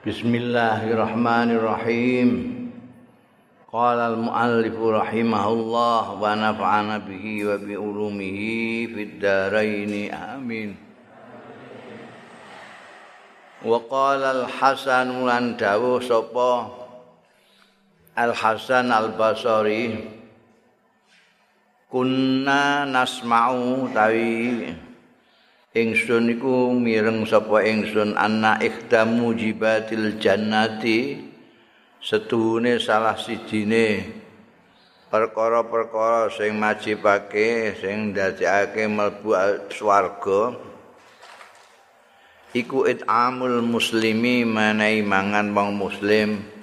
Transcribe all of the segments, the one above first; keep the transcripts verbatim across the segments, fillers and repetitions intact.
Bismillahirrahmanirrahim. Qala al-muallif rahimahullah wa nafa'ana bihi wa bi ulumihi fid dharain amin. Wa qala al-Hasan lan dawuh sapa Al-Hasan Al-Basri, kunna nasma'u tawi ingsun iku mireng sapa ingsun anna ikhdamu jibatil jannati, setuhune salah sijine perkara-perkara sing majibake sing ndadekake mlebu swarga iku it'amul muslimi, menehi mangan wong muslim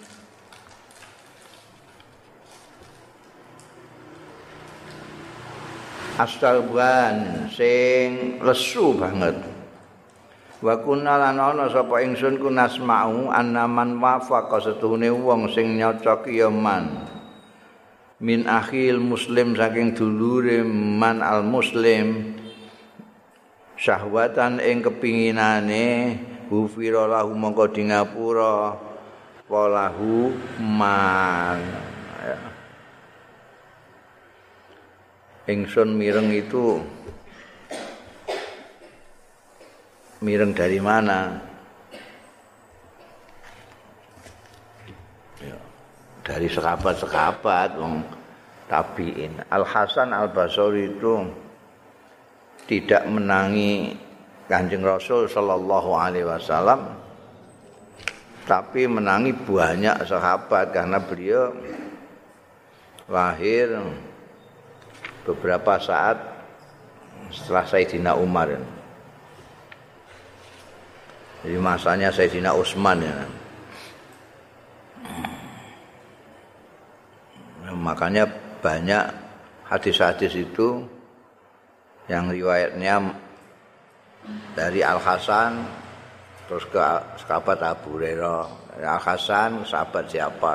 astalban sing lesu banget. Wa kunna lan ana sapa ingsun ku nasma'u annaman wafaqa setuhune wong sing nyocok ya man min akhil muslim saking dulure man al muslim syahwatan ing kepinginane hufira lahu mongko di ngapura walahu man. Ingsun mireng itu mireng dari mana? Ya, dari sekabat-sekabat wong tabi'in. Al-Hasan Al-Basri itu tidak menangi Kanjeng Rasul sallallahu alaihi wasallam, tapi menangi banyak sahabat karena beliau lahir beberapa saat setelah Sayyidina Umar. Jadi masanya Sayyidina Utsman ya. Makanya banyak hadis-hadis itu yang riwayatnya dari Al-Hasan terus ke sahabat Abu Hurairah. Al-Hasan sahabat siapa?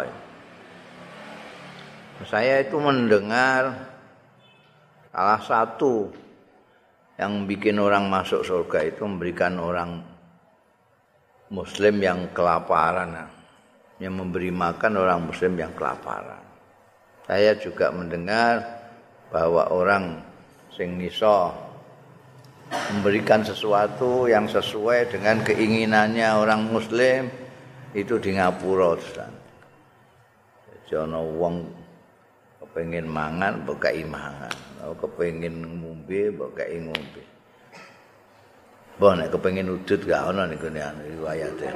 Saya itu mendengar salah satu yang bikin orang masuk surga itu memberikan orang muslim yang kelaparan, yang memberi makan orang muslim yang kelaparan. Saya juga mendengar bahwa orang sing iso memberikan sesuatu yang sesuai dengan keinginannya orang muslim itu di ngapura. Jadi ana wong kepengin mangan mbok kei mangan, kepengin ngombe mbok kei ngombe. Mbok nek kepengin udut gak ana niku riwayate.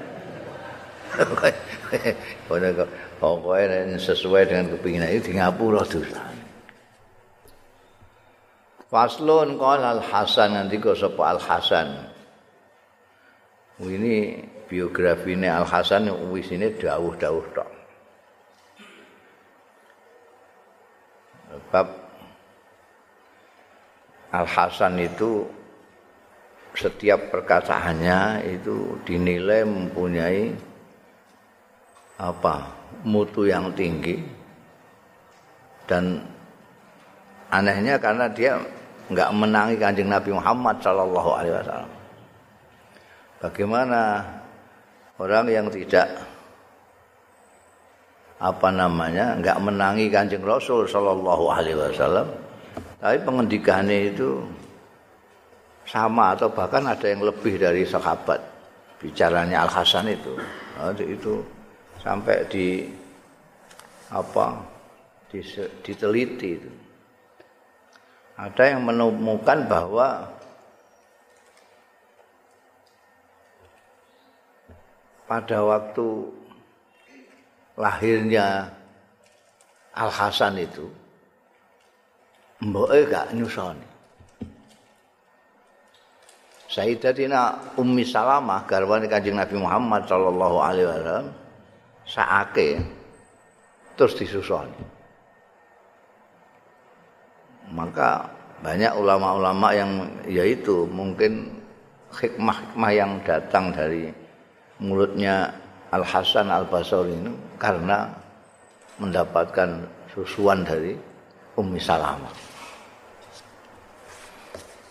Pokoknya sesuai dengan kepinginan itu di ngapura dosa. Faslun qala Al-Hasan, nanti kok sapa Al-Hasan. Ini biografine Al-Hasan wisine dawuh-dawuh tok. Bab Al-Hasan itu setiap perkataannya itu dinilai mempunyai apa mutu yang tinggi, dan anehnya karena dia enggak menangi Kanjeng Nabi Muhammad sallallahu alaihi wasallam. Bagaimana orang yang tidak apa namanya enggak menangi Kanjeng Rasul sallallahu alaihi wasallam, tapi pengendikannya itu sama atau bahkan ada yang lebih dari sahabat. Bicaranya Al-Hasan itu, nah, itu sampai di apa diteliti itu. Ada yang menemukan bahwa pada waktu lahirnya Al-Hasan itu mboke gak nyusoni. Sayyidatina Ummi Salamah garwane Kanjeng Nabi Muhammad sallallahu alaihi wasallam saake terus disusoni. Maka banyak ulama-ulama yang yaitu mungkin hikmah-hikmah yang datang dari mulutnya Al-Hasan Al-Basri ini karena mendapatkan susuan dari Ummi Salamah.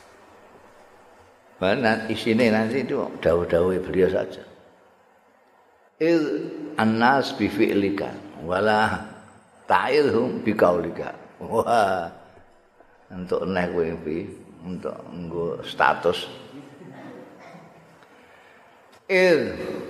Mana isinya nanti itu dawuh-dawuh beliau saja. il annas bi fi'lika wala ta'ilhum bi qaulika. Wah. Untuk nek kowe untuk nggo status il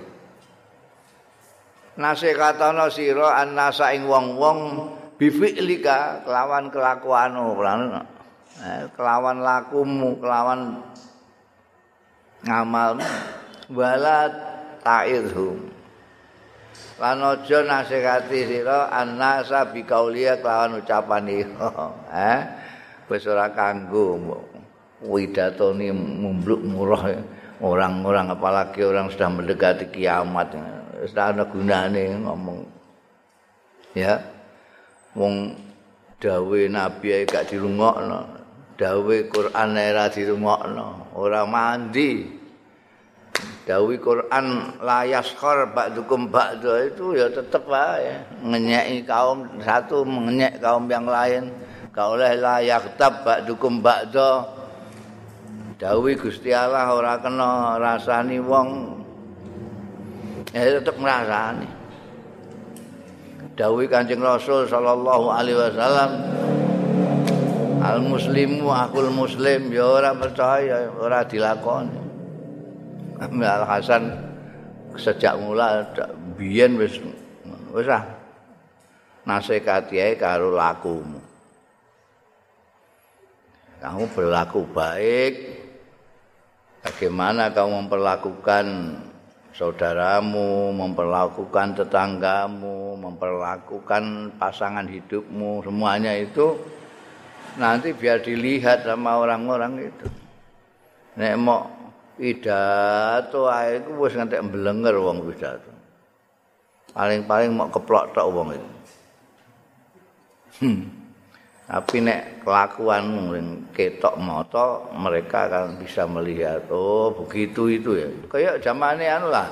nasekatono sira annasa ing wong-wong bi fi'lika kelawan kelakuanmu, kelawan lakumu, kelawan ngamalmu, wala ta'idhum lan aja nasihati sira annasa bi kauliya kelawan ucapan ira eh wis ora kanggo widatone mumbluk murah orang-orang apalagi orang sudah mendekati kiamat sudah ana gunane ngomong ya wong dawe nabi ae gak dirungokno dawe Quran ora dirungokno ora mandi dawe Quran la yaskhar ba'dukum ba'da itu ya tetep wae ngenyeki kaum satu mengenyek kaum yang lain gak oleh la yaktab ba'dukum ba'da dawe Gusti Allah ora kena rasani wong ya tetep ngrasani dawe Kanjeng Rasul sallallahu alaihi wasallam al muslimu akul muslim ya ora percaya ora dilakoni. Al Hasan sejak mula biyen wis wis ah nasihati ae karo lakumu. Kamu berlaku baik. Bagaimana kamu memperlakukan saudaramu, memperlakukan tetanggamu, memperlakukan pasangan hidupmu, semuanya itu nanti biar dilihat sama orang-orang itu. Nek mau pidato ae iku wis ngantek mblenger wong pidato. Paling-paling mau keplok tok wong itu. Hmm. Tapi nek kelakuanmu yang ketok mata mereka akan bisa melihat oh begitu itu ya. Kayak zamane anu lah.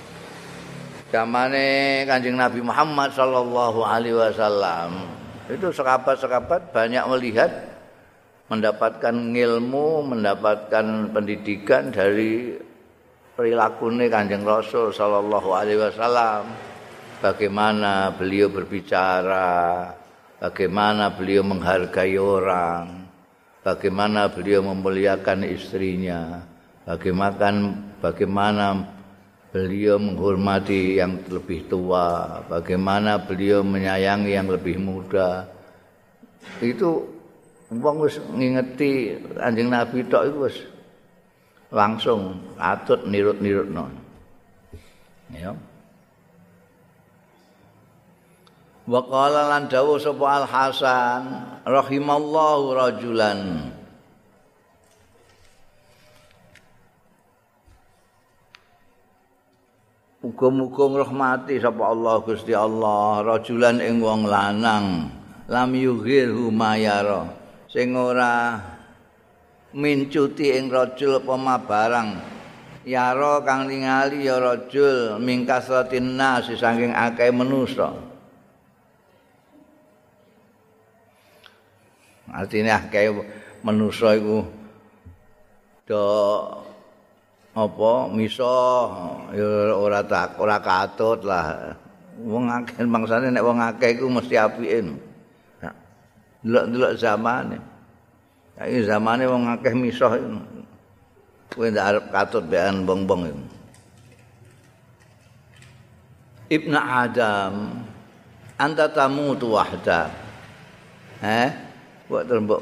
Zamane Kanjeng Nabi Muhammad sallallahu alaihi wasallam. Itu sahabat-sahabat banyak melihat mendapatkan ilmu, mendapatkan pendidikan dari perilakune Kanjeng Rasul sallallahu alaihi wasallam. Bagaimana beliau berbicara, bagaimana beliau menghargai orang, bagaimana beliau memuliakan istrinya, bagaimana bagaimana beliau menghormati yang lebih tua, bagaimana beliau menyayangi yang lebih muda. Itu wong wis ngingeti Kanjeng Nabi tok iku wis langsung atut nirut-nirutno. Ya. Wa qala lan dawuh sapa Al Hasan rahimallahu rajulan muga-muga ngrahmati sapa Allah Gusti Allah rajulan ing wong lanang lam yughirhu mayara sing ora mincuti ing rajul apa barang yara kang ningali ya rajul mingkasatin nas saking akeh manusa. Artinya akeh manusa iku do apa miso ya ora tak ora katut lah. Wong akeh bangsane nek wong akeh iku mesti apike. Delok-delok zamane. Saiki zamane wong akeh miso kowe ndak arep katut bean bong-bong iku. Ibnu Adam anta tamutu wahda. Eh? Buat terembuk.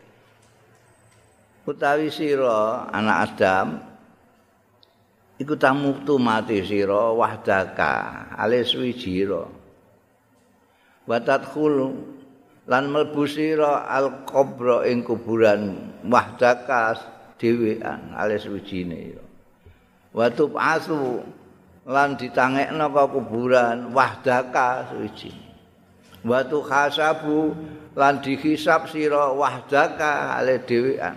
Utawi sira anak Adam iku tamu tu mati sira wahdaka alis wijira. Wa tadkhulu lan mlebu sira al-qabra ing kuburan wahdaka dhewean alis wijine. Wa tub'atsu lan ditangekno ka kuburan wahdaka suwijine. Wa tu hasabu lan dihisab sira wahdaka ale dhewean.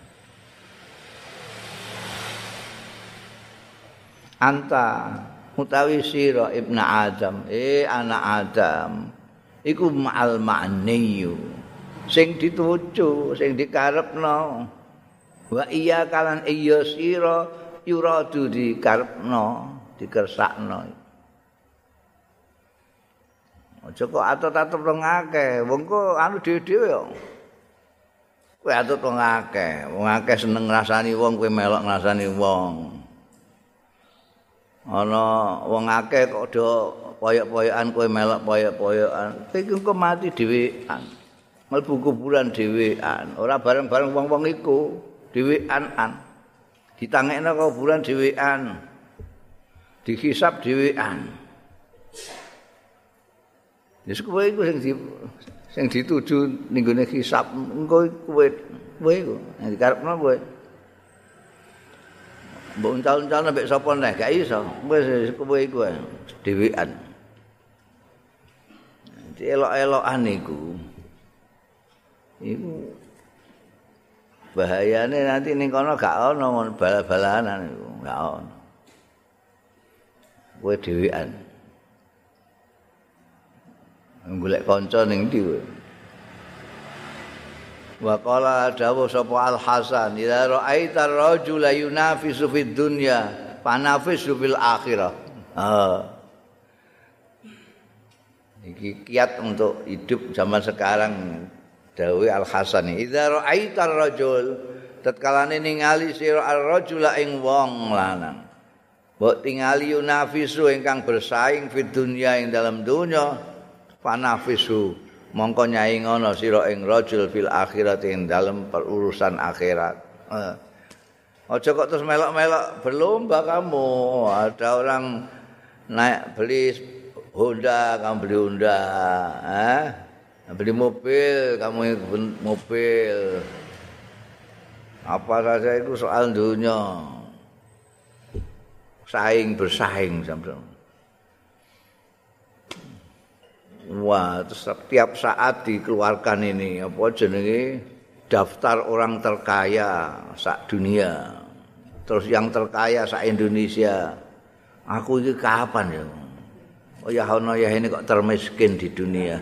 Anta utawi sira Ibnu Adam eh anak Adam iku ma'al ma'niyu sing dituju sing dikarepno wa iya kalan iya sira yuradu dikarepno dikersakno Aja kok atut-atut wong akeh. Wong kok anu dhewe-dhewe yo. Kowe atut wong akeh. Wong akeh seneng ngrasani wong, kowe melok ngrasani wong. Ana wong akeh kok do poyok-poyokan kowe melok poyok-poyokan. Kowe engko mati dhewean. Mlebu kuburan dhewean. Ora bareng-bareng wong-wong iku dhewean-an. Ditangekno kuburan dhewean. Dihisab dhewean. Wis kowe iku sing di sing dituju ning gone hisab engko kowe kowe iku sing dikarepno kowe. Mbok uncal-uncal nek sapa neh gak iso. Wis kowe iku dhewean. Elok-elokan iku. Iku bahayane nanti ning kono gak ono bal-balanan iku, gak ono. Kowe dhewean. Golek kanca ning ndi kowe. Wa qala dawu sapa Al Hasan, "Idza ra'aita ar-rajula yunafisu fid dunya, fanafisu fil akhirah." Ah. Iki kiat untuk hidup zaman sekarang dawuh Al Hasan. "Idza ra'aita ar-rajul, tatkalane ningali sira ar-rajula ing wong lanang. Mbok tingali yunafisu ingkang bersaing fid dunya ing dalam dunya. Panafisu mongko nyaingono sira ing rajul fil akhirat ing dalem perurusan akhirat. Eh. Aja kok terus melok-melok berlomba kamu. Ada orang naik beli Honda, kamu beli Honda, eh? Beli mobil, kamu mobil. Apa saja itu soal dunia. Saing bersaing sampai. Wah, setiap saat dikeluarkan ini apa jenenge daftar orang terkaya sak dunia. Terus yang terkaya sak Indonesia. Aku iki kapan ya? Oh ya ono ya ini kok termiskin di dunia.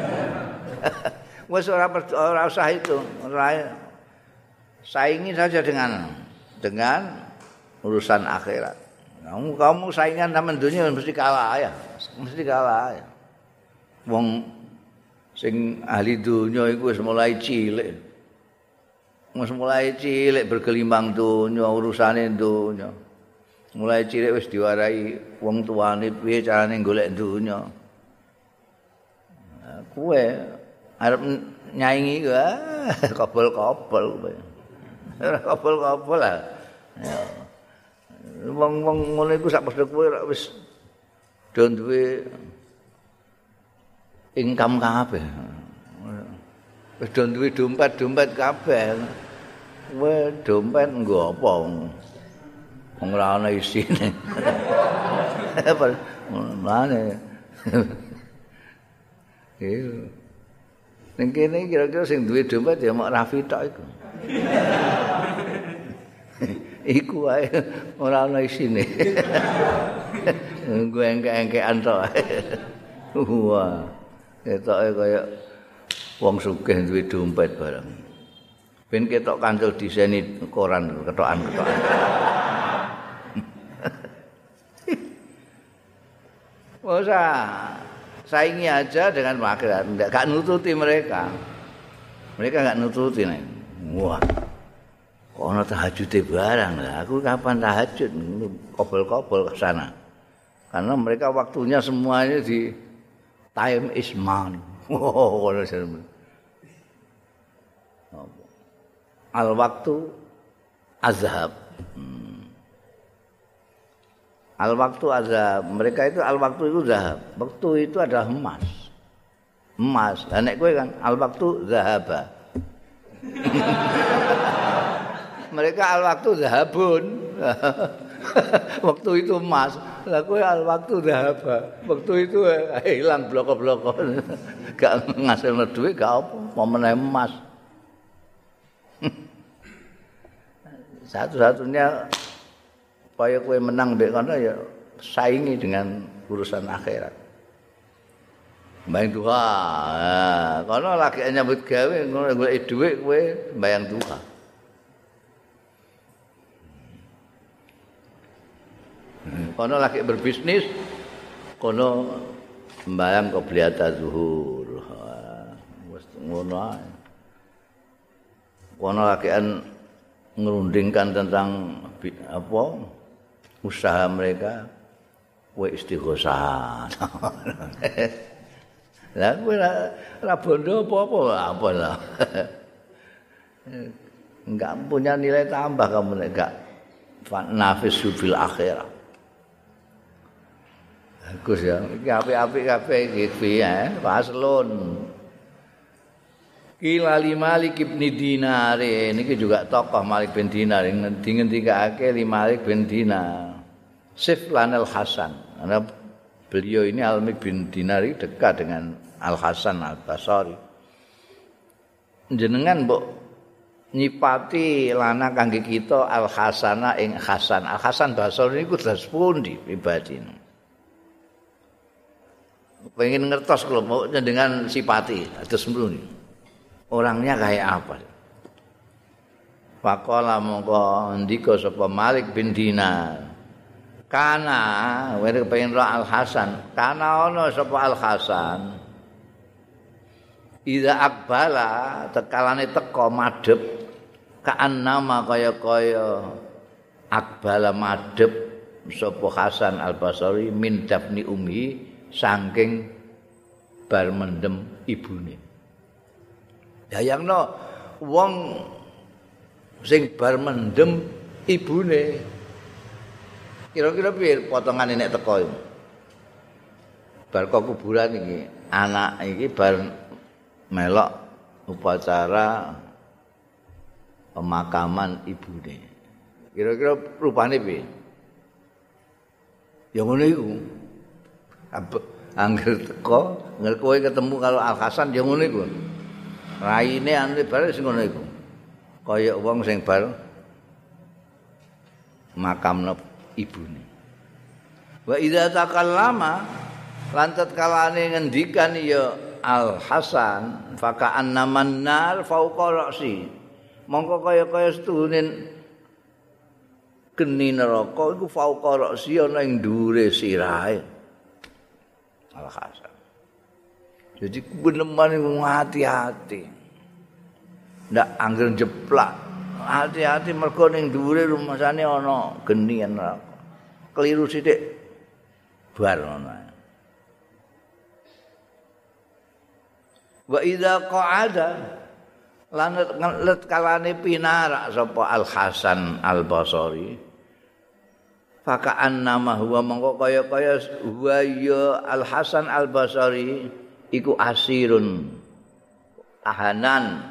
Wes ora ora usah itu. Ora saingi saja dengan dengan urusan akhirat. Kamu kamu saingan sama dunia mesti kalah ya. Mesti kalah ya. Wong sing ahli dunya iku wis mulai cilik. Wis mulai cilik bergelimang dunya, urusane dunya. Mulai cilik wis diwarai wong tuane piye carane golek dunya. Nah, kowe arep nyaingi kowe kobol-kobol kowe. Ora kobol-kobol lah. Ya. Wong-wong ngono iku sak padha kowe wis do duwe income kabeh. Wis do duwe dompet-dompet kabeh. Kowe dompet nggo apa? Wong ora ana isine. Mane. Iya. Ning kene kira-kira sing duwe dompet ya mok Rafi tok iku. Iku wae ora ana isine. Nggo engke-engkean tok. Wah. Ketoke kaya wong sugih duwe dompet barang. Ben ketok kancil diseni koran ketokan-ketokan. Masa saingi aja dengan akhirat, enggak gak nututi mereka. Mereka enggak nututi nih. Wah. Ono tahajude barang lah. Aku kapan tahajud? Kobol-kobol ke sana. Karena mereka waktunya semuanya di time is money. Oh, al waktu azhab. Hmm. Al waktu azhab. Mereka itu al waktu itu zahab. Waktu itu adalah emas. Emas. Lah nek kowe kan al waktu zahaba. Mereka al waktu zahabun. Waktu itu emas. Lah kowe al waktu zahaba. Waktu itu hilang bloko-bloko. Gak ngasilno duit gak apa, mau meneh emas. Satu-satunya supaya kowe menang mbek kono ya saingi dengan urusan akhirat. Mbayang duha. Nah, kono lagi nyambut gawe ngono golek dhuwit kowe mbayang duha. Kono lagi berbisnis, kono sembahyang qobliyata zuhur. Wis ngono ae. Kono kakean ngerundingkan tentang apa usaha mereka kowe istighosah. Lah kowe ora bondo apa-apa apa lah. Enggak punya nilai tambah kamu nek enggak nafis fil akhirah. Bagus ya, iki apik-apik kabeh iki ya, faslun. Kila li Malik bin Dinar, niki juga tokoh Malik bin Dinar ngendikake li Malik bin Dinar. Sif lanal Hasan. Karena beliau ini Al-Malik bin Dinar dekat dengan Al-Hasan Al-Basri. Jenengan mbok nyipati lana kangge kita Al-Hasana ing Hasan. Al-Hasan Basri niku dados pundi pribadine. Pengen ngertos kula mau dengan sipati dados mrene. Orangnya kayak apa? Faqala mongko ndika sapa Malik bin Dinar. Kana wene pengen ro Al Hasan, kana ana sapa Al Hasan. Iza akbala tekalane teka madhep kaannama kaya-kaya akbala madhep sapa Hasan Al Basri min dafni ummi saking bar mendem ibune. Dayangno wong sing bar mendem ibune. Kira-kira piye potongane nek teko iku? Bar kok kuburan iki, anak iki bar melok upacara pemakaman ibune. Kira-kira rupane piye? Ya ngono iku. Angger teko, angger kowe ketemu karo Al Hasan ya ngono iku. Raine ane bar sing ngono iku. Kaya wong sing bar makamna ibune. Wa idza takallama lan tatkalane ngendikan ya Al Hasan faka annaman nar fauqa ra'si. Mongko kaya-kaya setuhunin geni neraka iku fauqa ra'si ana ing dhuwure sirahe. Al Hasan. Jadi beneman iku hati-hati. Ndak angger jeplak. Hati-hati mergo ning dhuwure rumasane ana geni neraka. Keliru sithik bar ngono. Wa idza qa'ada lan let kalane pinarak sapa Al Hasan Al Basri faka annama huwa mongko kaya-kaya huwa ya Al Hasan Al Basri iku asirun tahanan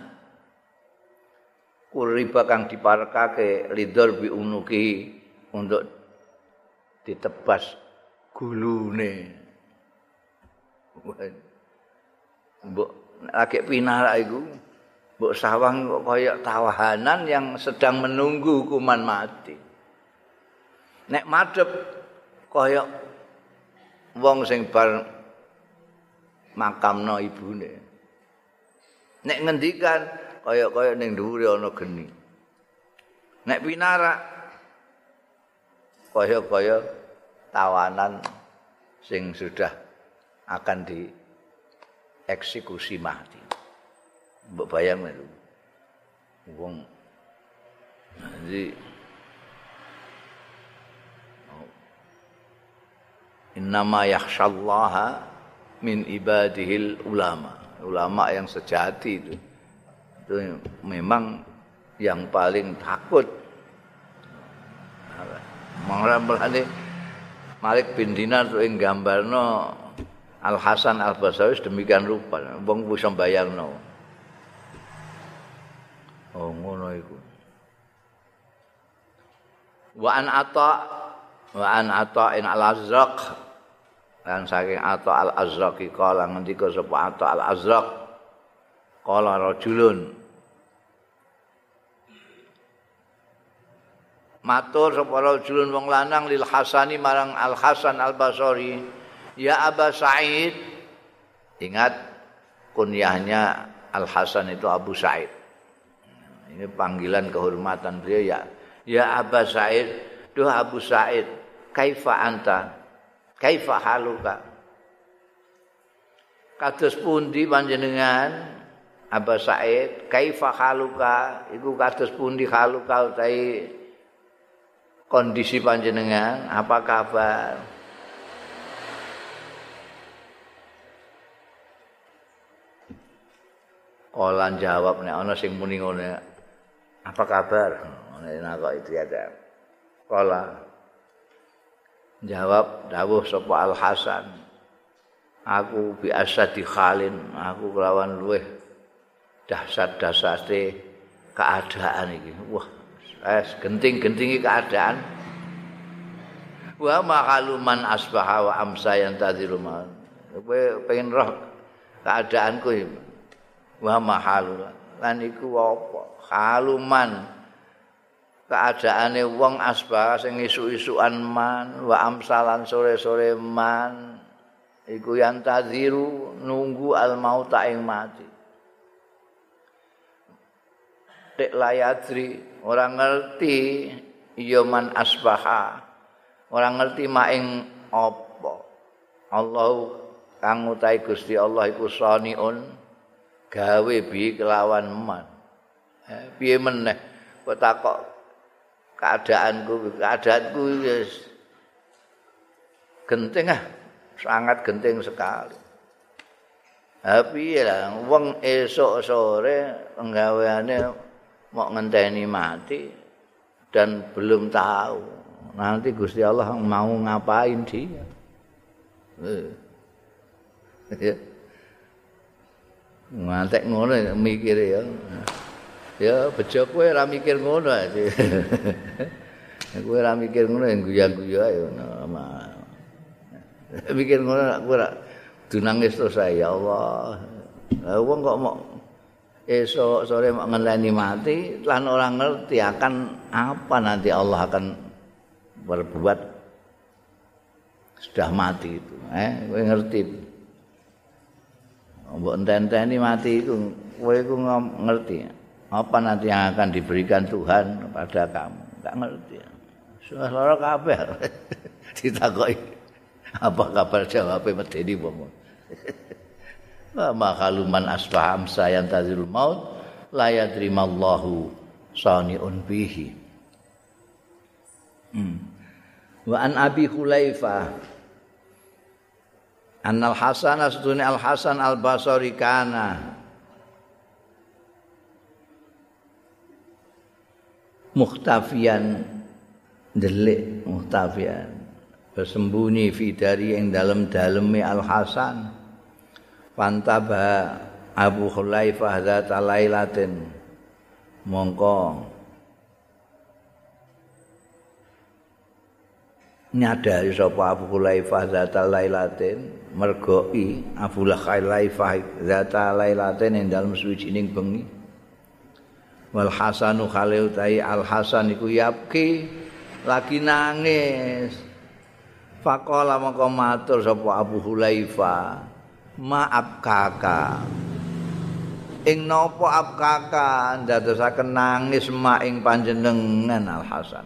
kuriba kang diparekake lidor bi unuki untuk ditebas gulune. Mbok lagi pinarak iku mbok sawang kok kaya tawahanan yang sedang menunggu hukuman mati. Nek madhep kaya wong sing bar makamno ibune. Nek ngendikan kaya-kaya ning dhuwure ana geni. Nek pinarak kaya-kaya tawanan sing sudah akan dieksekusi mati. Mbok bayang lho. Wong jadi innama yakhsyallaha min ibadihil ulama. Ulama yang sejati itu. Itu memang yang paling takut. Mengrambelane Malik bin Dinar tuh ing gambarno Al Hasan Al Basri demikian rupa. Wong bisa bayangno. Oh ngono iku. Wa an ata wa an ata in al-azraq lan saking ata al-azraqi kala ngendika sapa ata al-azraq kala rajulun matur sapa rajulun wong lanang lil Hasani marang Al Hasan Al Basri ya Aba Sa'id. Ingat kunyahnya Al Hasan itu Abu Sa'id. Ini panggilan kehormatan beliau ya ya Aba Sa'id, duh Abu Sa'id, kaifa anta? Kaifa haluka? kados pundi panjenengan Aba Said kaifa haluka iku kados pundi haluka utawi kondisi panjenengan apa kabar Kolan jawab nek ana sing muni ngono apa kabar nek kok itu ada Kola jawab dawuh sapa Al Hasan aku biasa dikhalin aku kelawan luweh dahsyat-dahsyate keadaan iki. Wah, es genting-gentingi keadaan. Wa makaluman asbaha wa amsa yantadziru ma. Kowe pengen roh keadaanku ya. Wa mahalul. Lan iku apa? Haluman keadaane wong asbaha sing isuk-isukan man wa amsalan sore-sore man iku yantadziru nunggu al mauta ing mati. Dek layadri orang ngerti ya man asbaha orang ngerti maing apa Allah kang utahe Gusti Allah iku saniun gawe bi kelawan man eh, piye meneh kok takok keadaanku keadaanku wis genting ah sangat genting sekali tapi ya wong esok sore penggaweane mau ngenteni mati dan belum tahu nanti Gusti Allah mau ngapain dia. Ya. Ngantek ngono mikir ya. Ya bejo kowe ora mikir ngono ae. Kowe ora mikir ngono guyu-guyu ae ngono. Mikir ngono kowe ora dunangis terus ya Allah. Lah wong kok mau esok sore mau ngeleni mati lan orang ngerti akan apa nanti Allah akan berbuat sudah mati itu eh kowe ngerti mbok enten-enteni mati itu kowe iku ngerti apa nanti yang akan diberikan Tuhan kepada kamu enggak ngerti suara kabeh ditakoki apa kabar jawabe medeni wong wa makaluman asfaham sayan tazirul maut la yadrimallahu saniun bihi. Hmm. Wa an Abi Khulaifah Annal Hasan asdune Al Hasan Al Basri kana mukhtafian delik mukhtafian bersembunyi fi dari yang dalam-daleme Al Hasan Fantaba Abu Khulaifah zata lailatin mongko nyadari sapa Abu Khulaifah zata lailatin mergoi Abu Khulaifah zata lailatin ing dalem suwijining bengi wal Hasanu khalil tai Al Hasan iku yabki lagi nangis faqala mongko matur sapa Abu Khulaifah maaf kakak ing napa ab kakak ndadosaken nangis mak ing panjenengan Al Hasan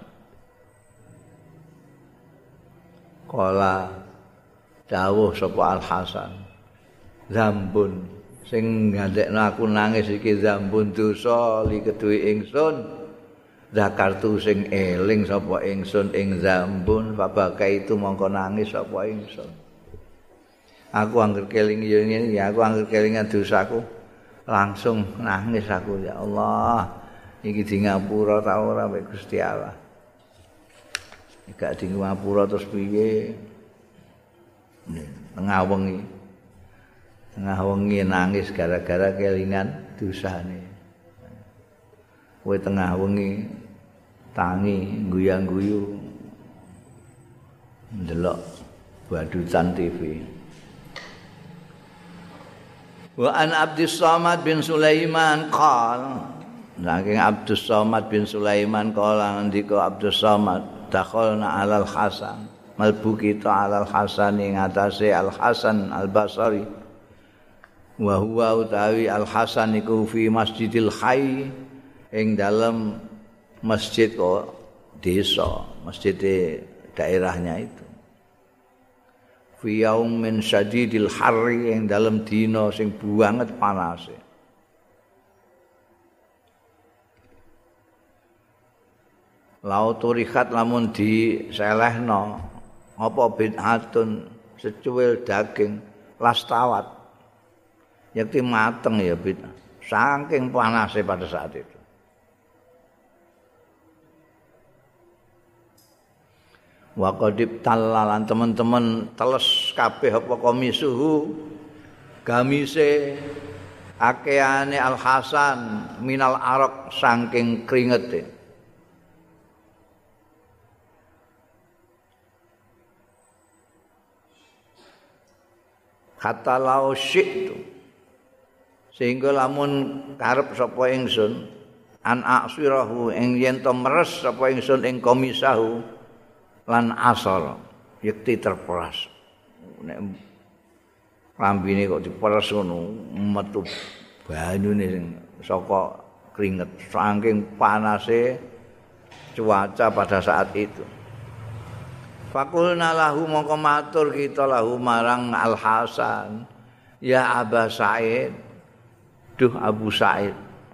kala dawuh sapa Al Hasan zambun sing ngandekno aku nangis iki zambun dosa li keduwe ingsun zakartu sing eling sapa ingsun ing zambun babake itu mongko nangis sapa ingsun aku angger keling yo ngene ya aku angger kelingan dosaku langsung nangis aku ya Allah iki di ngapura ta ora mek Gusti Allah gak di ngapura terus piye tengah wengi tengah wengi nangis gara-gara kelingan dosane kowe tengah wengi tangi guyang-guyu ndelok badutan T V. Wa an Abdus Samad bin Sulaiman qala saking Abdus Samad bin Sulaiman qala ndika Abdus Samad dakhalna alal Hasan malbu kita alal Hasan ing atase Al Hasan Al Basri wa huwa utawi Al Hasan iku fi Masjidil Hayy ing dalam masjid kok desa masjid daerahnya itu fi yaumin syadidil harri ing dalem dina sing banget panase. Lauturihat lamun diselehno apa bid'atun secuil daging lastawat yakti mateng ya bid'ah saking panase pada saat itu. Wa qadib talalan teman-teman teles kabeh apa komisuhu gamise akeane Al Hasan minal araq saking kringete. Kata lau syi'tu sehingga lamun karep sapa ingsun an aksirahu ing yen to meres sapa ingsun ing komisahu lan asar yekti terperas nek lambine kok diperes ngono metu banyune sing saka keringet saking panase cuaca pada saat itu. Fakulna lahu mongko matur kita lahu marang Al Hasan ya Aba Sa'id duh Abu Sa'id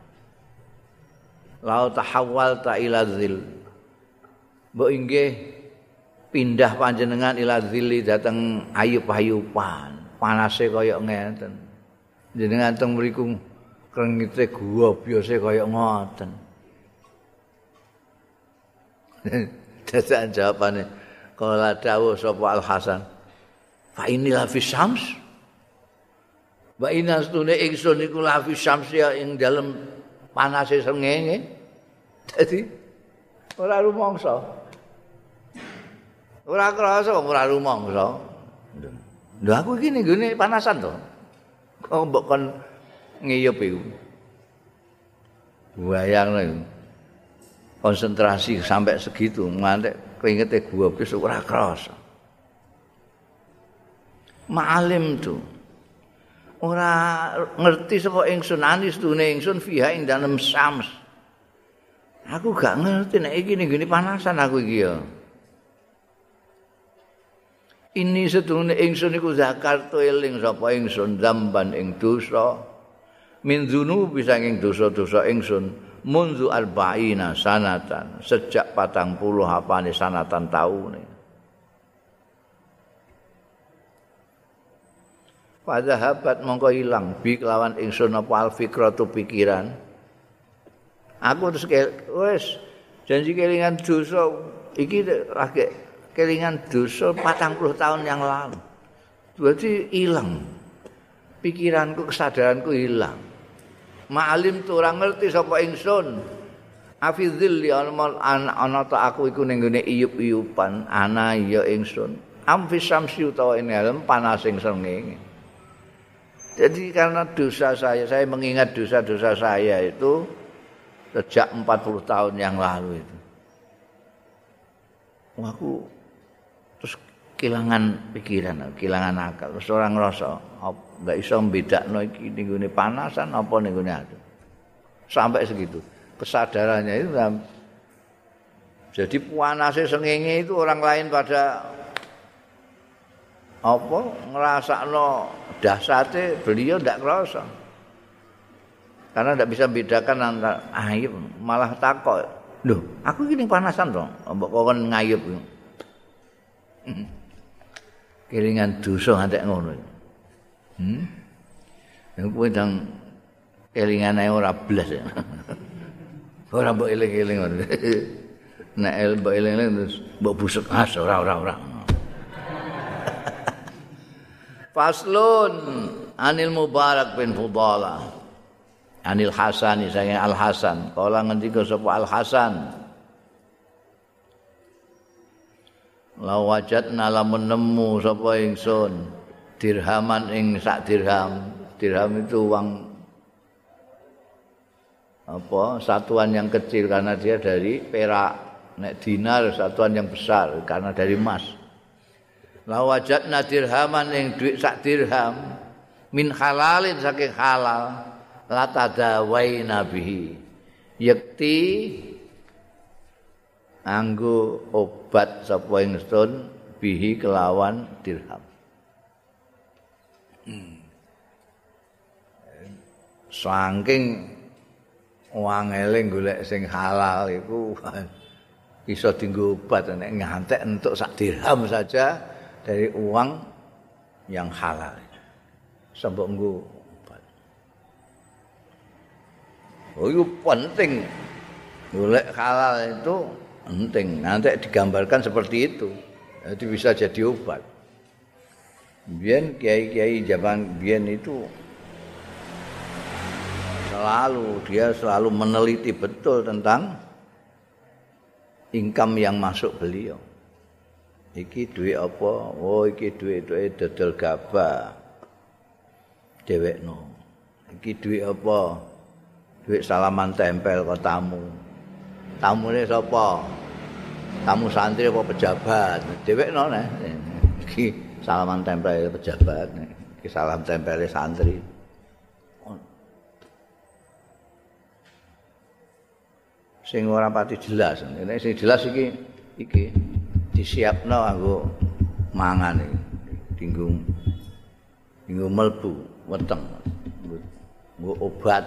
lau tahawwalta ila dzil mbok inggih pindah panjenengan ila dzilli dateng ayub-ayuban panase kaya ngeten jenengan teng mriku krengite gua biasa kaya ngoten. Dadak jawabane kala dawuh sapa Al Hasan fa inilah fi syams wa inna stune ingsun iku la fi syams ya ing dalem panase srengenge dadi ora rumangsa ora krasa ora rumangsa lho aku iki ning gone panasan to kok mbok kon ngiyup iku bayangno iku konsentrasi sampai segitu ngantek keringete gua wis ora krasa. Ma'alim tu. Ora ngerti sapa ingsun anis dune ingsun fiha ing dalem syams. Aku gak ngerti nek iki ning ngene panasan aku iki ya. Ini sedune ingsun iku zakartu eling sapa ingsun zamban ing dosa. Min dzunubi saking dosa-dosa ingsun. Munzu arba'ina sanatan sejak patang puluh apane sanatan taune. Padhahabat mongko ilang bi kelawan ingsun apa alfikratu pikiran. Aku terus wis janji kelingan dosa iki lagi kelingan dosa patang puluh tahun yang lalu. Berarti ilang. Pikiranku, kesadaranku hilang. Ma'alim tu ora ngerti sapa ingsun. Afizil li ana ta aku iku ning gone iyup-iyupan ana ya ingsun. Am fi syamsi utawa ing dalem panasing srengenge. Jadi karena dosa saya, saya mengingat dosa-dosa saya itu sejak empat puluh tahun yang lalu itu. Aku terus kehilangan pikiran, kehilangan akal. Terus orang ngerasa enggak iso mbedakno iki ning gone panasan apa ning gone adem. Sampai segitu. Kesadarannya itu jadi panase sengenge itu orang lain pada apa ngrasakno dahsate beliau ndak ngerasa. Karena ndak bisa membedakan antara ayub malah takok. Loh, aku iki ning panasan to. Mbok kon ngayub. Kelingan dosa ngantek ngono. Hmm. Yang kuwi ndang kelingan ae ora blas. Ora mbok eling-eling ngono. Nek mbok eling-eling terus mbok busuk as ora ora ora. Faslun Anil Mubarak bin Fudalah Anil Hasan saya Al Hasan kala ngendika sapa Al Hasan la wajadna lamun nemu sapa ingsun dirhaman ing sak dirham. Dirham itu uang apa satuan yang kecil karena dia dari perak. Nek dinar satuan yang besar karena dari emas. La wajadna dirhaman ing dhuwit sak dirham min halalin saking halal la tadawaina bihi. Yakti anggo obat sapa ingsun bihi kelawan dirham. saking wangele golek sing halal iku iso dienggo obat nek ngantek entuk sak dirham saja dari uang yang halal. Sampai nggo obat. Oh itu penting. Golek halal itu penting. Nanti digambarkan seperti itu. Jadi bisa jadi obat. Biyen kiai-kiai zaman biyen itu selalu dia selalu meneliti betul tentang income yang masuk beliau. Iki duit apa? Oh iki duit-duit dodol gabah. Dhewekno. Iki duit apa? Duit salaman tempel ke tamu. Tamune sapa? Tamu santri apa pejabat? Dhewekno nek. Iki salaman tempel pejabat, iki salam tempel santri. Sing ora pati jelas. Nek sing jelas iki iki disiapno nganggo mangan iki. Dinggo dinggo mlebu weteng. Nggo obat.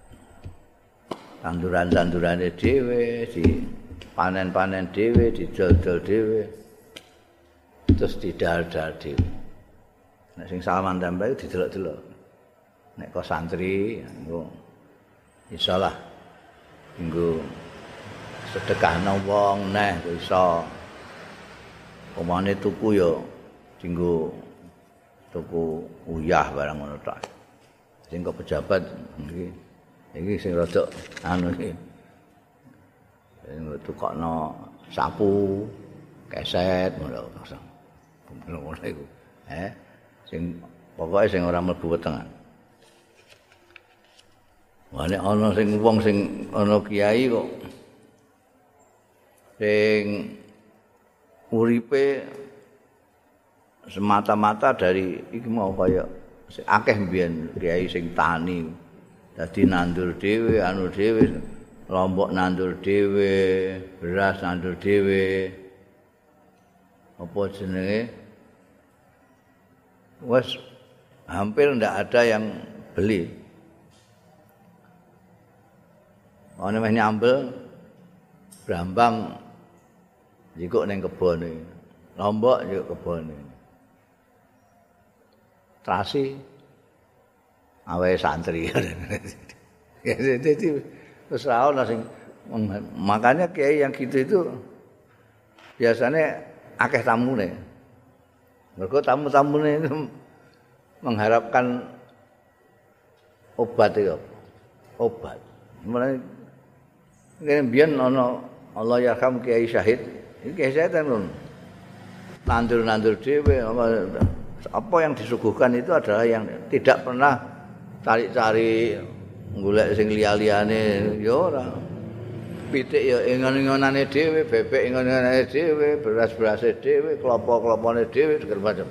Tanduran-tandurane dhewe, di panen-panen dhewe, didol-dol dhewe. Terus didal-dal dhewe. Nek sing salaman tempel didelok-delok. Nek kok santri nggo isolah nggo sedekahno wong neh iso. Omane tuku ya dinggo tuku uyah barang ngono tok. Sing kok pejabat iki iki sing rada anu iki. Sing tukokno sapu, keset ngono. Ngono iku. Eh, sing pokoke sing ora mlebu wetengan. Wane ana sing wong sing ana kiai kok sing uripe semata-mata dari iki mau kaya akeh mbiyen kiai sing tani dadi nandur dhewe anu dhewe lombok nandur dhewe beras nandur dhewe apa jenenge wes hampir ndak ada yang beli. Ana meh nyambel Brambang jiko ning kebone. Lombok yo kebone. Trasi awe santri. Jadi terus ana sing makanya kiai yang gitu itu biasanya akeh tamune. Mergo tamu-tamune itu mengharapkan obat itu. Obat. Mulai ngene biyen ana Allah yarham Kiai Syahid. Iki Kiai Syahid kan nandur-nandur dhewe apa yang disuguhkan itu adalah yang tidak pernah cari-cari golek sing liya-liyane ya ora. Pitik ya ingon-ingonane dhewe, bebek ingon-ingonane dhewe, beras-berase dhewe, klopo-klopone dhewe segala macam.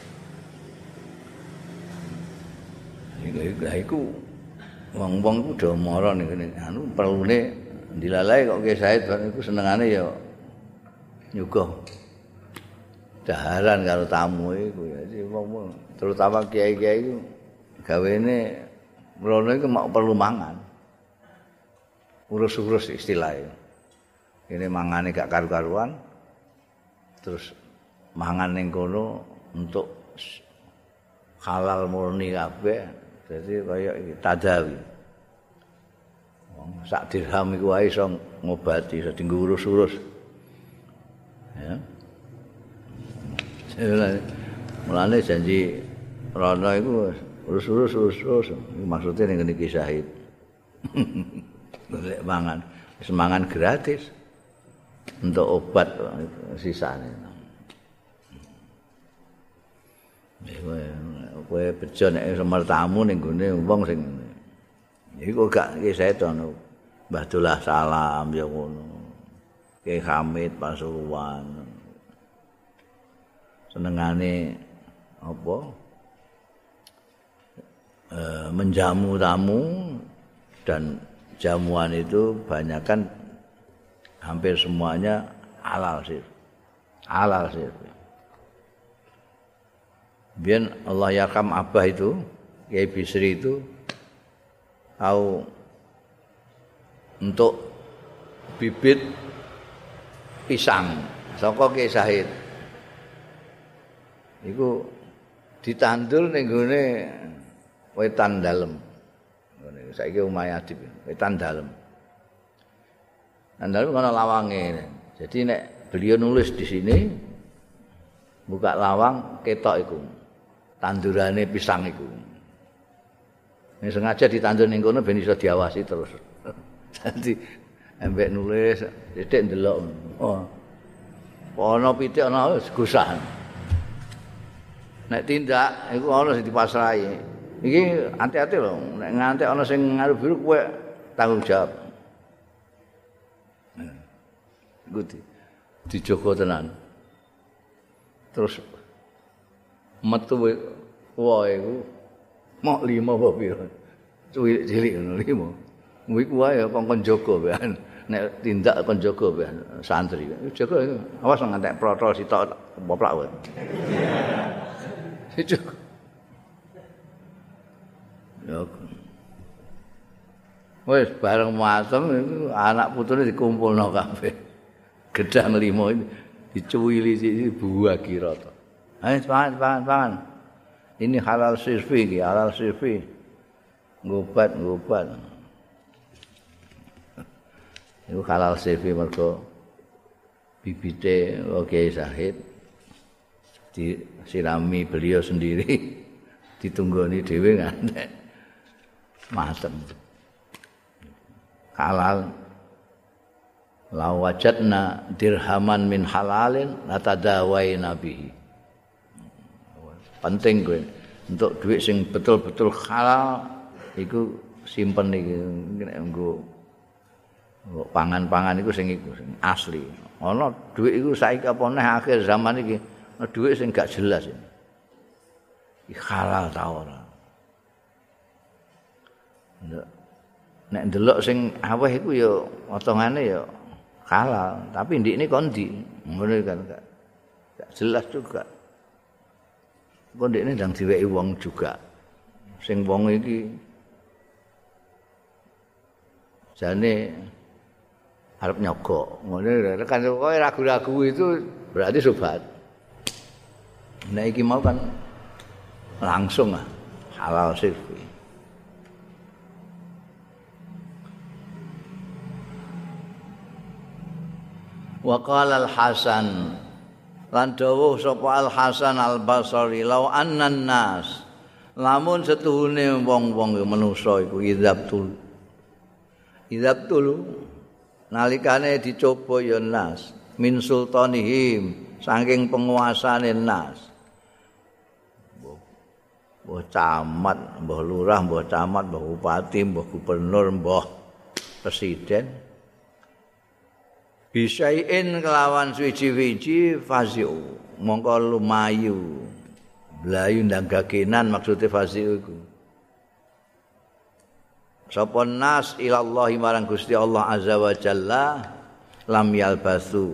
Iku iku wong-wong ku do mara ning kene anu perlune dilalai kok Kiai Said iku senengane ya nyuguh daharan karo tamu iku ya wong terutama kiai-kiai iku gawene mrono iku mak perlu mangan. Urus-urus istilahnya. Ini mangane gak karu-karuan terus mangan ning kono untuk halal murni kabeh. Jadi kaya iki tadawi. Wong sak dirham iku wae iso ngobati, iso dienggo urus-urus. Ya. Mulane janji rono iku urus-urus urus-urus. Maksudnya ning ngene Ki Syahid. Golek mangan, semangan gratis untuk obat sisane. Kowe bejo nek semar tamu ning gone wong sing iku gak iki saya tono Mbah Dullah Salam ya ngono. Ki Hamid Pasuruan. Senengane apa? E, menjamu tamu dan jamuan itu banyakkan hampir semuanya halal sih. Halal sih. Biar Allah yarham Abah itu, Kiai Bisri itu tahu untuk bibit pisang saka Ki Said. Iku ditandur ning gone wetan dalem. Ngene saiki omahe Adib, wetan dalem. Nang dalem ana lawange. Jadi nek beliau nulis di sini buka lawang ketok iku. Tandurane pisang iku. Ini sengaja ditandur ning kono ben iso diawasi terus. Jadi embek nulis titik ndelok. Oh. Ana pitik ana gusahan. Nek tindak iku ana sing dipasrahi. Iki hati-hati lho, nek nganti ana sing ngaruh biru kowe tanggung jawab. Iku di dijogo tenan. Terus metu wae iku mok lima apa piro. Cilik-cilik ngono lima. Kuwi wae kongkon jaga ben. Nek tindak kon jaga ben santri. Jaga awas ngantek protol sitok boplak wae. Sijuk. Ya. Wes bareng mateng itu anak putune dikumpulno kabeh. Gedang limo ini dicuwili sisi buah kirata. Ayo pangan pangan pangan. Ini halal sirfi iki, halal sirfi. Ngobat ngobat. Itu halal sirfi mergo bibite Kiai Said disirami beliau sendiri, ditunggoni dhewe ngantek mateng. Halal la wajadna dirhaman min halalin latadawaina bihi. Penting kowe untuk duit sing betul-betul halal iku simpen iki nek nggo pangan-pangan iku sing iku sing asli. Ana duit iku saiki apa neh akhir zaman iki duit sing gak jelas ini. Iki halal ta ora. Nek ndelok sing aweh iku ya potongane ya halal, tapi ndikne kon ndi. Ngono kan gak, gak jelas juga. Kon ndikne ndang diweki wong juga. Sing wong iki jane arep nyogok. Ngono kan kowe ragu-ragu itu berarti sobat. Nah iki mau kan langsung ah halal sirfi. Wa qala al-Hasan lan dawuh sapa al-Hasan al-Basri law annan nas lamun setuhune wong-wong manusa iku idzabtul idzabtul nalikane dicoba ya nas min sultanihim saking penguasane nas mbah camat, mbah lurah, mbah camat, mbah bupati, mbah gubernur, mbah presiden. Bisain kelawan suci-wici faziu, mongko lumayu. Blayu ndang gagenan maksude faziu iku. Sapa nas ilallahi marang Gusti Allah azza wa jalla lam yalbasu.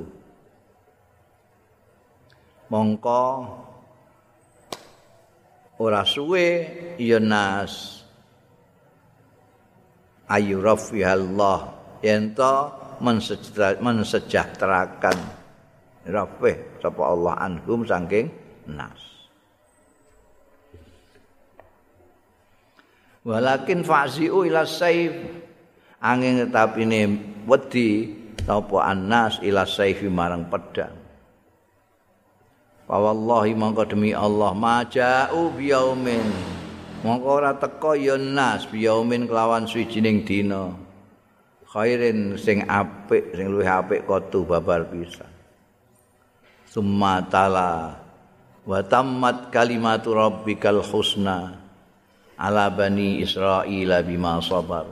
Mongko ora suwe ya nas ayyurafihallah ento mensejahterakan rafih sapa Allah anhum saking nas. Walakin fa'zi'u ila saif angin tetapine wedi sapa annas ila saifi marang pedang. Fa wallahi mongko demi Allah maja'u biyaumin mongko ora teka ya nas biyaumin kelawan swijining dina khairin sing apik sing luwih apik kotu babar pisan. Summa tala wa tammat kalimatu rabbikal husna ala bani Israila bima sabar.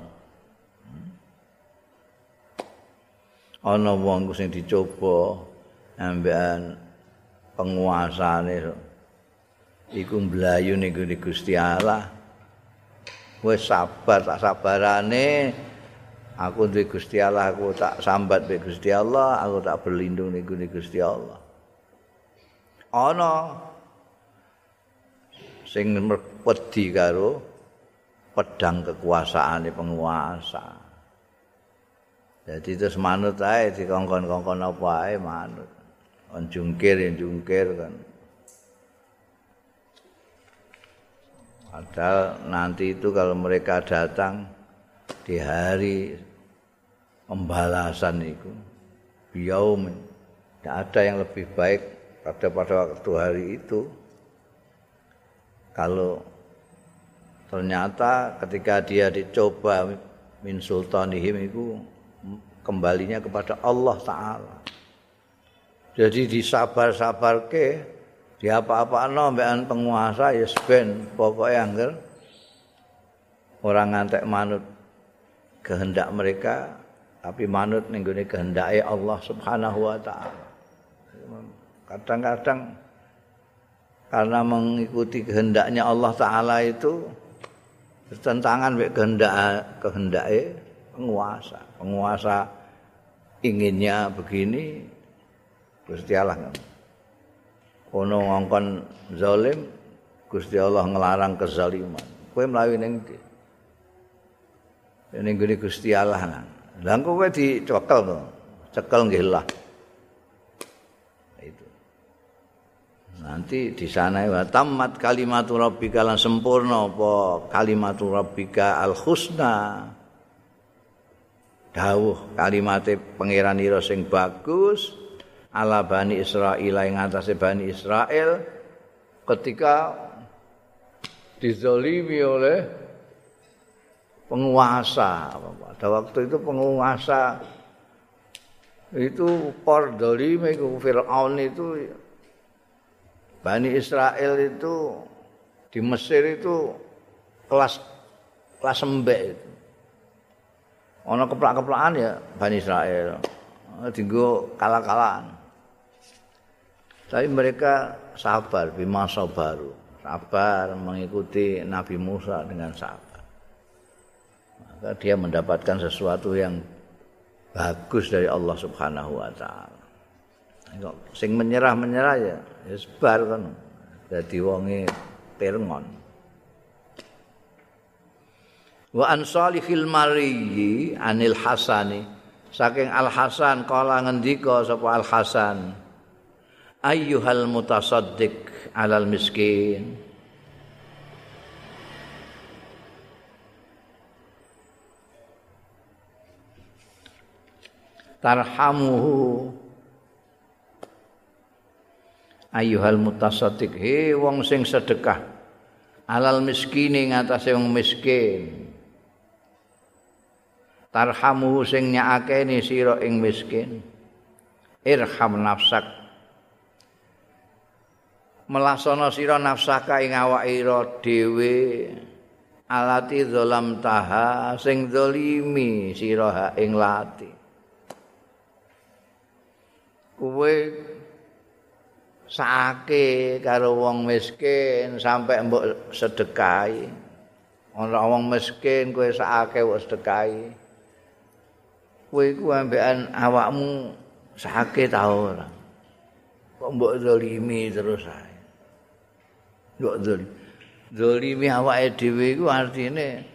Ana wong sing dicoba ambekan penguasane iku mblayu ning Gusti Allah. Wis sabar tak sabarane aku duwe Gusti Allah, aku tak sambat mek Gusti Allah, aku tak berlindung ning Gusti Allah. Ana sing wedi karo pedang kekuasaan penguasa. Jadi terus manut ae dikongkon-kongkon apa ae manut. Kon jungkir ya jungkir kan. Padahal nanti itu kalau mereka datang di hari pembalasan itu, biaum, tidak ada yang lebih baik pada pada waktu hari itu. Kalau ternyata ketika dia dicoba min sultanihim itu kembalinya kepada Allah Ta'ala. Jadi disabar-sabarke, diapa-apakno mbekan penguasa ya ben pokoke angger orang ngantek manut kehendak mereka tapi manut ning gone kehendake Allah Subhanahu wa taala. Kadang-kadang karena mengikuti kehendaknya Allah Ta'ala itu bertentangan dengan kehendak kehendake penguasa. Penguasa inginnya begini, Gusti Allah ono ngongkon zalim, Gusti Allah ngelarang kezaliman. Kowe mlayu ning ndi? Ning gone Gusti Allah nang. Lah engko kowe dicekel to. Cekel nggih lah. Itu. Nanti di sana wa tammat kalimatu rabbika lan sempurna apa kalimatu rabbika al husna. Dawuh kalimate pangeranira sing bagus ala Bani Israil ing atase Bani Israel ketika dizalimi oleh penguasa. Pada waktu itu penguasa itu pordolim itu Fir'aun itu Bani Israel itu di Mesir itu kelas kelas embek itu. Ono keplak-keplakan ya Bani Israel. Dinggo kalah-kalahan. Tapi mereka sabar bima sabaru. Sabar mengikuti Nabi Musa dengan sabar. Maka dia mendapatkan sesuatu yang bagus dari Allah Subhanahu wa taala. Sing menyerah-menyerah ya, ya sebar kan. Dadi wonge Pirngon. Wa an salihil mariyyi anil hasani saking Al Hasan kala ngendika sapa Al Hasan ayyuhal mutasaddiq alal miskin tarhamuhu ayyuhal mutasaddiq he wong sing sedekah alal miskine ngatasé wong miskin tarhamu sing nyaakeni sira ing miskin irham nafsak melasana sira nafsaka ing awakira dhewe alati zalam taha sing zalimi sira ing lati kowe sakake karo wong miskin sampai mbok sedekahi ana wong miskin kowe sakake wis sedekahi kowe iku ambekan awakmu sakake ta ora kok mbok zalimi terus ae mbok zalimi zalimi awake dhewe iku artine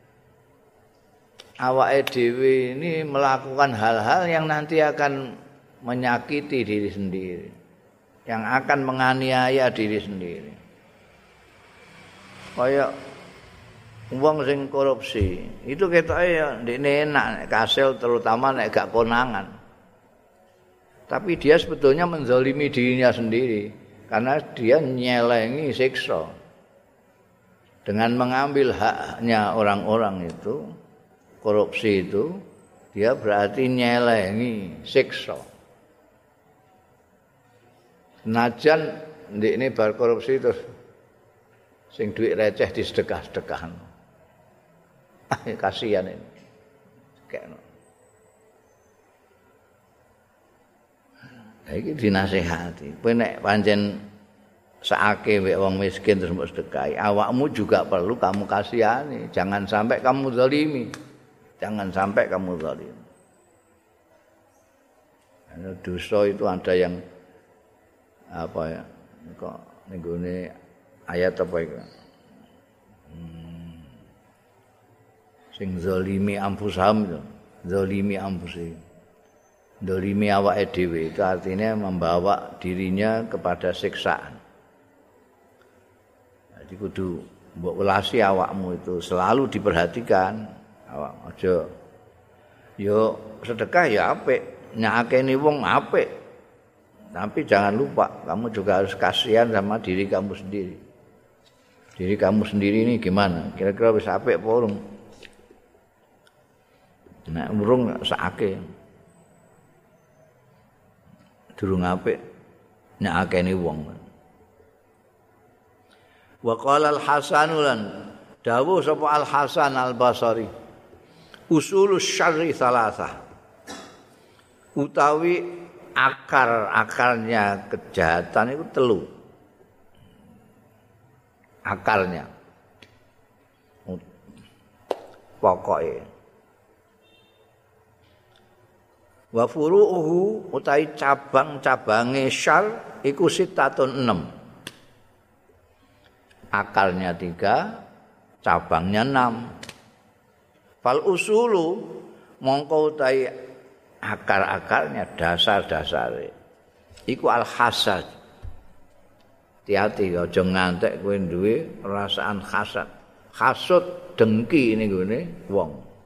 awake dhewe ini melakukan hal-hal yang nanti akan menyakiti diri sendiri yang akan menganiaya diri sendiri kaya wong sing korupsi itu ketoke ya ndekne enak nek kasil terutama nek gak konangan. Tapi dia sebetulnya menzalimi dirinya sendiri karena dia nyelengi siksa. Dengan mengambil haknya orang-orang itu, korupsi itu dia berarti nyelengi siksa. Najan ndekne bar korupsi terus sing duit receh disedekah-sedekahno. Kasihan ini. Kayakno. Nah, iki dinasehati. Kowe nek pancen sakake wek wong miskin terus mbok sedekahi, awakmu juga perlu kamu kasihani. Jangan sampai kamu zalimi. Jangan sampai kamu zalim. Karena dosa itu ada yang apa ya? Kok ning gone ayat apa itu? sing zalimi anfusahum itu, zalimi anfusihim. Zalimi awake dhewe itu artinya membawa dirinya kepada siksaan. Jadi kudu mbok welasi awakmu itu selalu diperhatikan. Awak aja yo sedekah ya apik, nyakeni wong apik. Tapi jangan lupa, kamu juga harus kasihan sama diri kamu sendiri. Diri kamu sendiri ini gimana? Kira-kira bisa apik apa urung? Nek urung sakake. Durung apik nyakeni wong. Wa qala al-Hasan lan dawuh sapa Al-Hasan Al-Basri. Usulus syarri salasah. Utawi akar-akarnya kejahatan itu telu. Akarnya. Pokoknya. Wa furu'uhu utawi cabang-cabange syar iku sitatun enam. Akarnya tiga, cabangnya enam. Fal usulu mongko utawi akar-akarnya dasar-dasare iku al-hasad. Hati-hati aja ngantek kowe duwe perasaan hasad. Hasud dengki ini gone wong.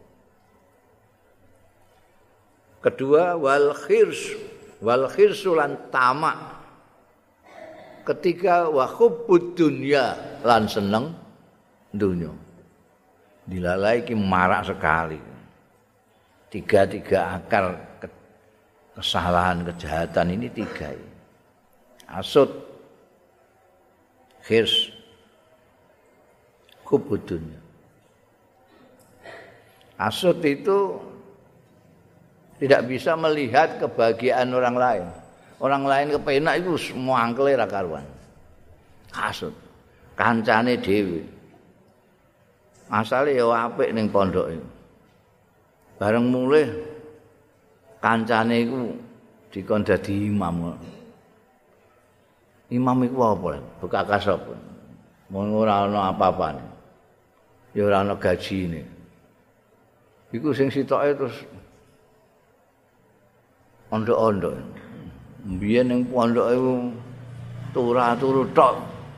Kedua wal khirs, wal khirsu lan tamak. Ketiga wa hubbud dunya lan seneng dunya. Dilalai iki marak sekali. Tiga-tiga akar kesalahan kejahatan ini tiga. Hasud, khirs, hubbud dunya. Hasud itu tidak bisa melihat kebahagiaan orang lain. Orang lain kepenak itu semua angkele ra karuan. Hasud. Kancane dhewe. Asale ya apik ning pondok iku. Bareng mulih kancane iku dikon dadi imam. Imam iku apa? Bekakas apa? Mung ora ana apa-apane. Ya ora ana gajine. Iku sing sitoke terus ondok-ondok. Mbiyen ning pondok iku turu-turu tok.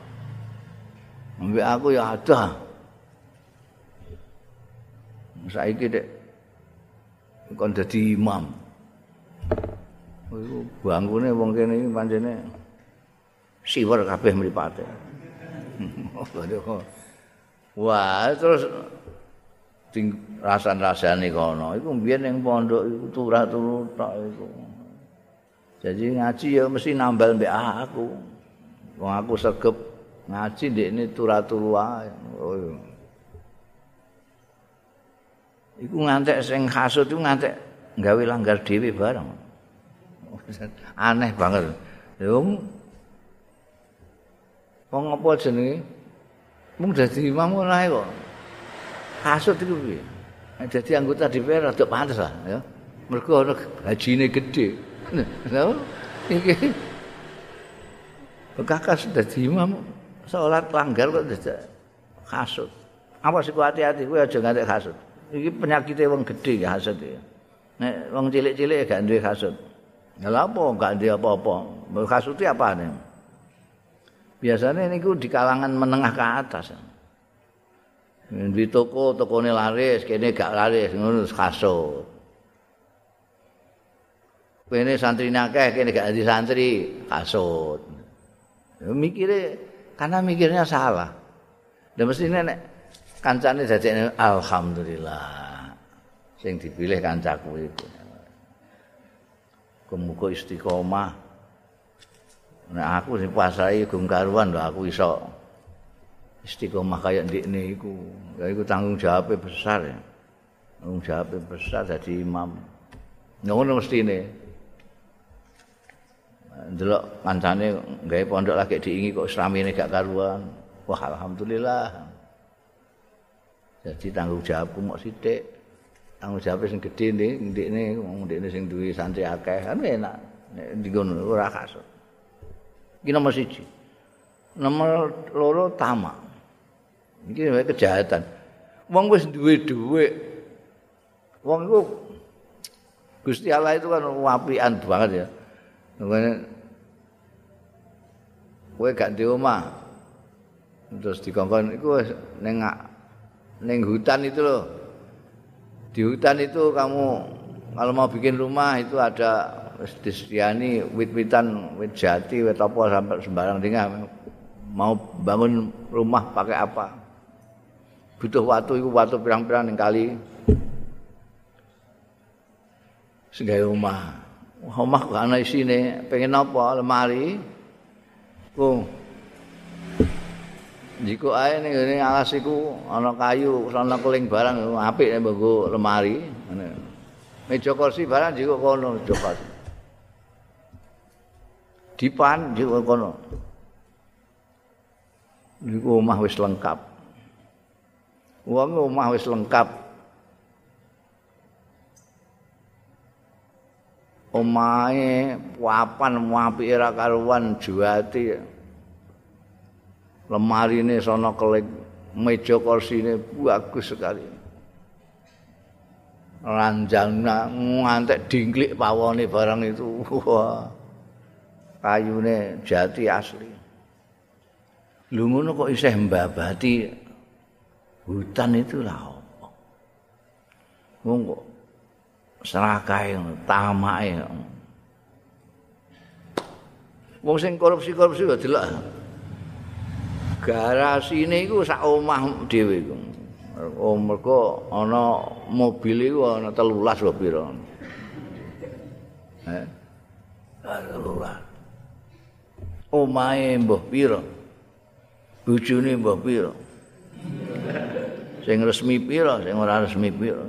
Mbek aku ya ada. Saiki dek kon dadi imam. Iku bangkune wong kene iki pancene siwer kabeh mripate. Wah, terus ting rasan-rasane kono. Iku mbiyen ning pondok iku turah-turu tok iku. Jadi ngaji ya mesti nambal mbek aku. Wong aku sregep ngaji ndekne turah-turu wae. Oh. Iku ngantek sing hasud iku ngantek gawe langgar dhewe bareng. Aneh banget. Yo wong apa jenenge? Mung dadi imam ngono ae kok. Hasud iku piye? Dadi anggota D P R rada pantes lah ya. Mergo ana gajine gedhe. Lha iki Bekakas dadi imam salat langgar kok dadi hasud. Apa sih ku hati-hati kowe aja ngantek hasud. Iki penyakite wong gedhe ya hasud ya. Nek wong cilik-cilik gak duwe hasud. Lha apa gak duwe apa-apa? Hasud iki apane? Biasanya niku di kalangan menengah ke atas. Di toko, tokone laris, kene gak laris, ngono hasud. Kene santri akeh, kene gak di santri, hasud. Mikire karena mikirnya salah. Dan mesti nek kancane dadekne alhamdulillah sing dipilih kancaku itu. Muga istiqomah. Nek aku sing pasai gum karuan lho aku iso istiqomah kaya ndekne iku. Ya iku tanggung jawabnya besar ya. Tanggung jawabnya besar dadi imam. Ngono mestine. Ndelok kancane gawe pondok lagi diingi kok islamine gak karuan. Wah alhamdulillah. Jadi tanggung jawabku mok sithik. Tanggung jawab sing gedhe ndekne wong ndekne sing duwe santri akeh kan enak. Nek ngono ora kasut. Iki nomor siji. Nomor loro tamak. Iki kejahatan. Wong wis duwe dhuwit Wong iku Gusti Allah itu kan wapian banget ya. Makanya kowe gak di omah. Terus dikongkon iku ning ning hutan itu loh. Di hutan itu kamu kalau mau bikin rumah itu ada disediani wit-witan, wit jati, wit apa sampai sembarang tinggal. Mau bangun rumah pakai apa? Butuh waktu itu waktu pirang-pirang ning kali. Segawe omah. Omah kok ana isine, pengen apa? Lemari. Oh. Jiko ae ning ngene alas iku ana kayu, ana keling barang apik nek nggo lemari. Meja kursi barang jiko kono coba. Dipan jiko kono. Niku omah wis lengkap. Wong omah wis lengkap. Omahe papan apike ra karuan juwati. Lemarine sono kelik, meja kursine bagus sekali. Ranjangna ngantek dingklik pawone barang itu. Wah. Kayune jati asli. Lho ngono kok isih mbabati hutan itu lha apa? Wong kok serakahe tamake. Wong sing korupsi-korupsi kok delok. Garasine iku sak omah dhewe iku. Oh mergo ana mobil iku ana telulas lho pira. Eh. Telulas. Omahe mbah pira? Bojone mbah pira? Sing resmi pira, sing ora resmi pira?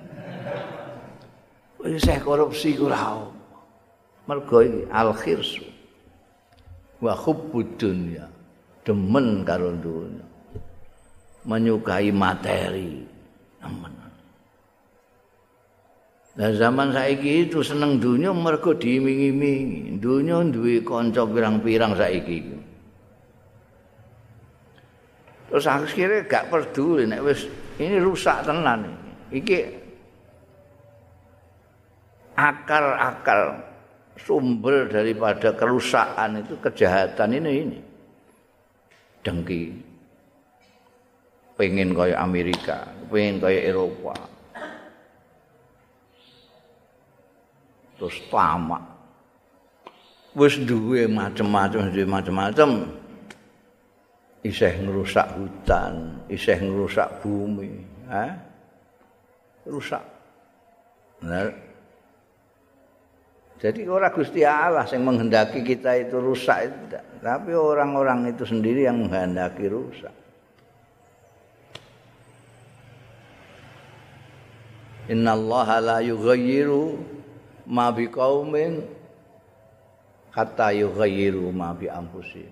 Wis korupsi ku ra. Mergo iki al-khirsu wa hubbud dunya. Demen karo dunya. Menyukai materi. Demen. Nah zaman saiki itu seneng dunya mergo diiming-imingi. Dunya duwe kanca pirang-pirang saiki. Terus akhirnya gak peduli nek wis ini rusak tenan iki. Iki akar-akar sumber daripada kerusakan itu kejahatan ini ini. Dengki. Pengen kaya Amerika, pengen kaya Eropa. Terus tamak. Wis duwe macam-macam, duwe macam-macam. Isih ngerusak hutan, isih ngerusak bumi, eh? Rusak. Nah, jadi orang Gusti Allah yang menghendaki kita itu rusak itu tidak. Tapi orang-orang itu sendiri yang menghendaki rusak. Innallaha la yughayyiru ma biqaumin hatta yughayyiru ma bi anfusihim.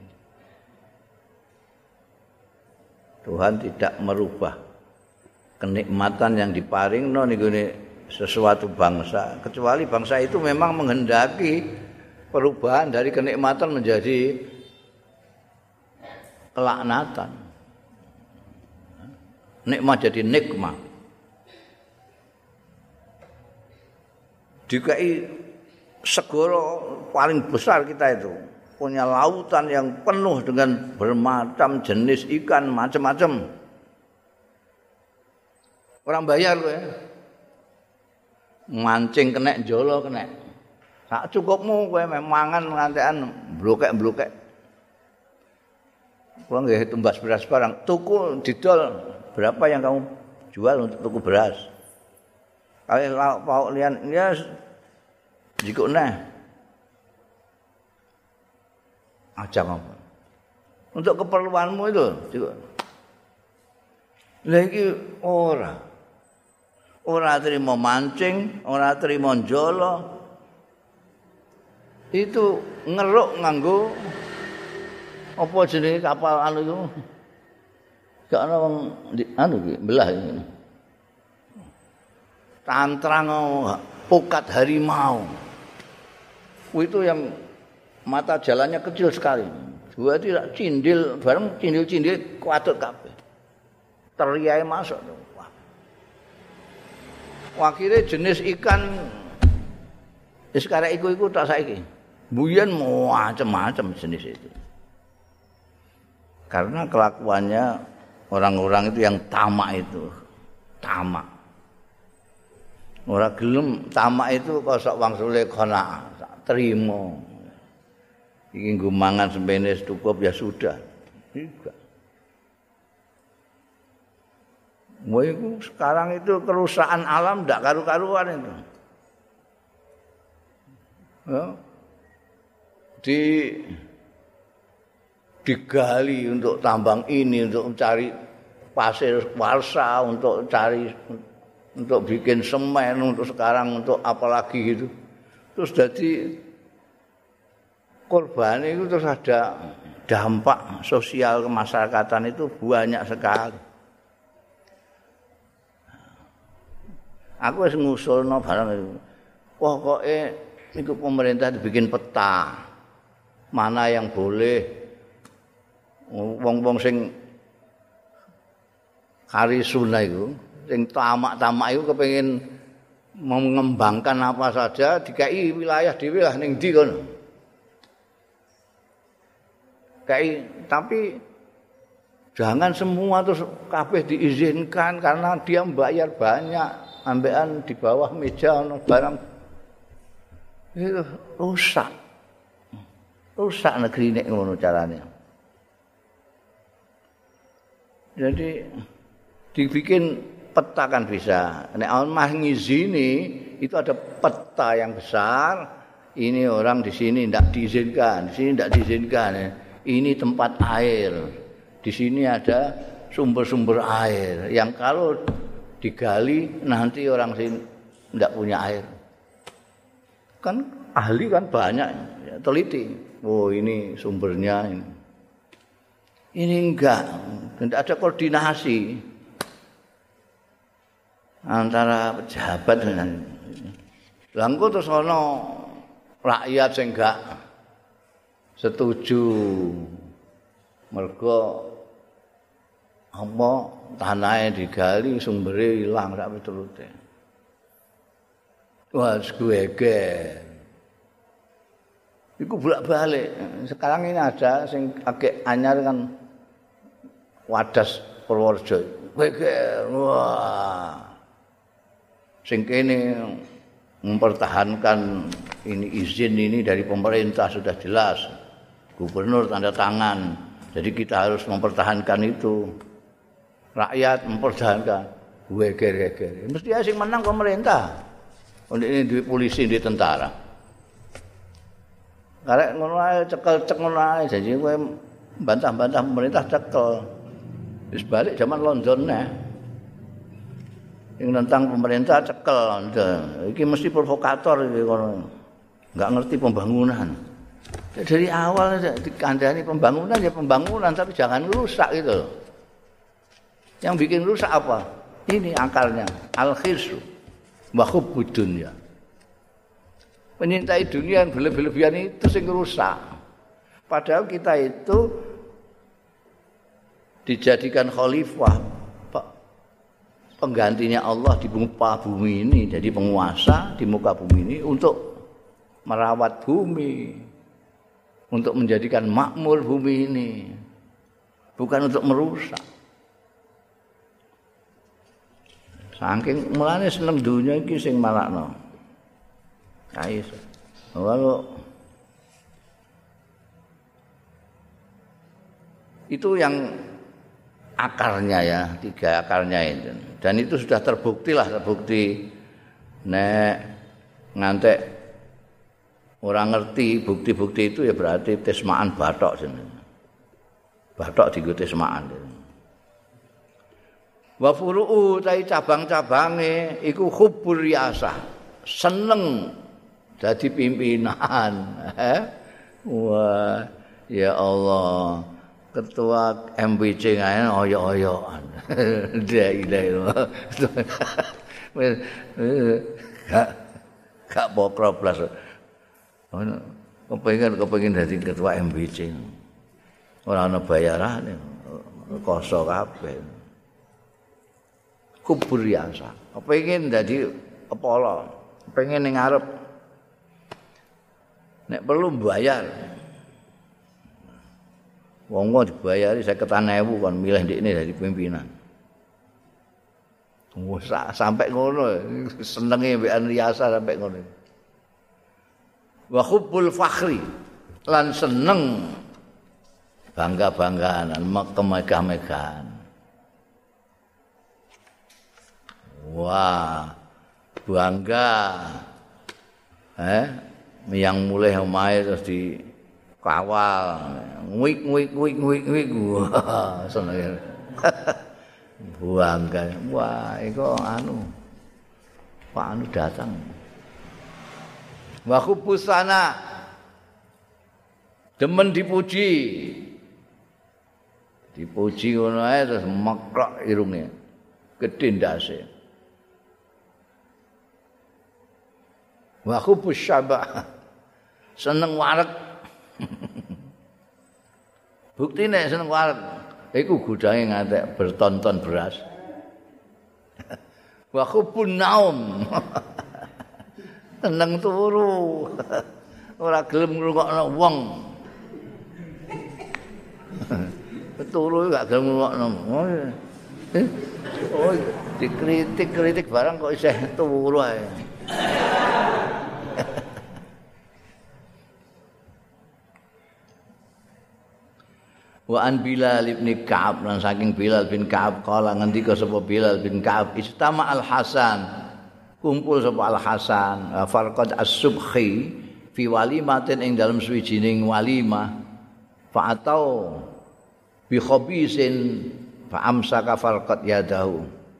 Tuhan tidak merubah kenikmatan yang diparingno niku sesuatu bangsa kecuali bangsa itu memang menghendaki perubahan dari kenikmatan menjadi kelaknatan. Nikmat jadi nikmat. Dikai segoro paling besar kita itu punya lautan yang penuh dengan bermacam jenis ikan macam-macam. Orang bayar loh ya. Mancing kena jolo kena. Sak cukupmu kowe mangan ngantekan blokek-blokek. Kulo nggih tumbas beras barang, tuku didol berapa yang kamu jual untuk tuku beras? Kalau lauk pauk lian ya jiko nah. Aja apa. Untuk keperluanmu itu jiko. Lah iki ora. Ora terima mancing, ora terima njolo. Itu ngeruk nganggo apa jenenge kapal anu itu? Gak ana wong anu iki belah ini. Tantrang pukat harimau. Itu yang mata jalannya kecil sekali. Dua tidak cindil, bareng cindil-cindil kuatut kabeh. Teriae masuk. Akhire jenis ikan wis karek iku-iku tak saiki. Mbuyen macam-macam jenis itu. Karena kelakuannya orang-orang itu yang tamak itu. Tamak. Ora gelem tamak itu kosok wangsule qanaah, terima. Iki nggo mangan sempene cukup ya sudah. Tidak. Wah itu sekarang itu kerusakan alam ndak karu-karuan itu. Ya. Di digali untuk tambang ini, untuk mencari pasir warsa, untuk cari untuk bikin semen, untuk sekarang untuk apalagi gitu. Terus jadi korban itu terus ada dampak sosial kemasyarakatan itu banyak sekali. Aku wis ngusulno barang itu. Pokoke iku pemerintah dibikin peta. Mana yang boleh wong-wong sing karisuna iku, sing tamak-tamak iku kepengin mengembangkan apa saja dikai wilayah dhewe lah ning ndi kono. Kai tapi jangan semua terus kabeh diizinkan karena dia membayar banyak. Ambekan di bawah meja ono barang itu rusak. Rusak negeri nek ngono carane. Jadi dibikin peta kan bisa. Nek mah ngizini itu ada peta yang besar. Ini orang di sini tidak diizinkan, di sini tidak diizinkan. Ini tempat air. Di sini ada sumber-sumber air yang kalau digali nanti orang sini tidak punya air. Kan ahli kan banyak ya, teliti. Oh ini sumbernya ini. Ini enggak, tidak ada koordinasi antara pejabat dengan langko terus ono rakyat sing enggak setuju mergo apa tanahnya digali sumbernya hilang sak piturute. Wah, geger. Iku bolak-balik. Sekarang ini ada sing agek anyar kan Wadas Purworejo. Geger. Wah. Sing kene mempertahankan ini izin ini dari pemerintah sudah jelas. Gubernur tanda tangan. Jadi kita harus mempertahankan itu. Rakyat mempertahankan, geger-geger. Mesti asing menang pemerintah. Untuk ini di polisi, di tentara. Karek ngono ae cekel-cek ngono ae janji kowe bantah-bantah pemerintah cekel. Wis balik zaman London nah. Yang tentang pemerintah cekel London. Iki mesti provokator iki kono. Enggak ngerti pembangunan. Dari awal dikandani pembangunan ya pembangunan tapi jangan rusak gitu. Yang bikin rusak apa? Ini akalnya al-khirsu wa hubbud dunya. Menyintai dunia yang berlebih-lebihan itu sing rusak. Padahal kita itu dijadikan khalifah penggantinya Allah di muka bumi ini, jadi penguasa di muka bumi ini untuk merawat bumi, untuk menjadikan makmur bumi ini, bukan untuk merusak. Saking mulane seneng dunya iki sing malakno. Kais. Walau itu yang akarnya ya, tiga akarnya itu. Dan itu sudah terbukti lah, terbukti nek ngantek orang ngerti bukti-bukti itu ya berarti tismaan bathok jenenge. Bathok dienggo tismaan. Wa furu'u tai cabang-cabange iku hubbur riyasah. Seneng dadi pimpinan. Wah, ya Allah. Ketua M B C ngae oyo-oyoan. La ilaha illallah. Gak gak pokro blas. Ono kepengin kepengin dadi ketua M B C. Ora ana bayarane. Koso kabeh. kubur riasa. Kepengin dadi kepala, pengen ning ngarep. Nek perlu bayar. Wong kok dibayari seket ewu kon milih ndekne dadi pimpinan. Wes sampai ngono, senenge mbekan riasa sampai ngono. Wa hubbul fakhri lan seneng bangga-banggaan, kemegah-megahan. Wah, bangga. Eh, yang mulai omahe terus dikawal. Wik wik wik wik wik. Wah, seneng. Bangga. Wah, iku anu. Pak anu datang. Wa khubusana demen dipuji. Dipuji ngono ae terus mekrok irunge. Gedhe ndase. Wa khubus syabah. Seneng wareg. Buktine seneng wareg. Iku gudange ngantek bertonton beras. Wa khubun naum. Seneng turu. Ora gelem ngrungokno wong. Turu gak gelem ngrungokno. Oh, dikritik-kritik barang kok isih turu ae. Wa an Bilal bin Ka'ab lan saking Bilal bin Ka'ab kala ngendika sapa Bilal bin Ka'ab istama al Hasan kumpul sapa al Hasan farqad as-subhi fi walimatin ing dalam suwijining walimah fa atau bi khabisin fa amsaka farqad yadahu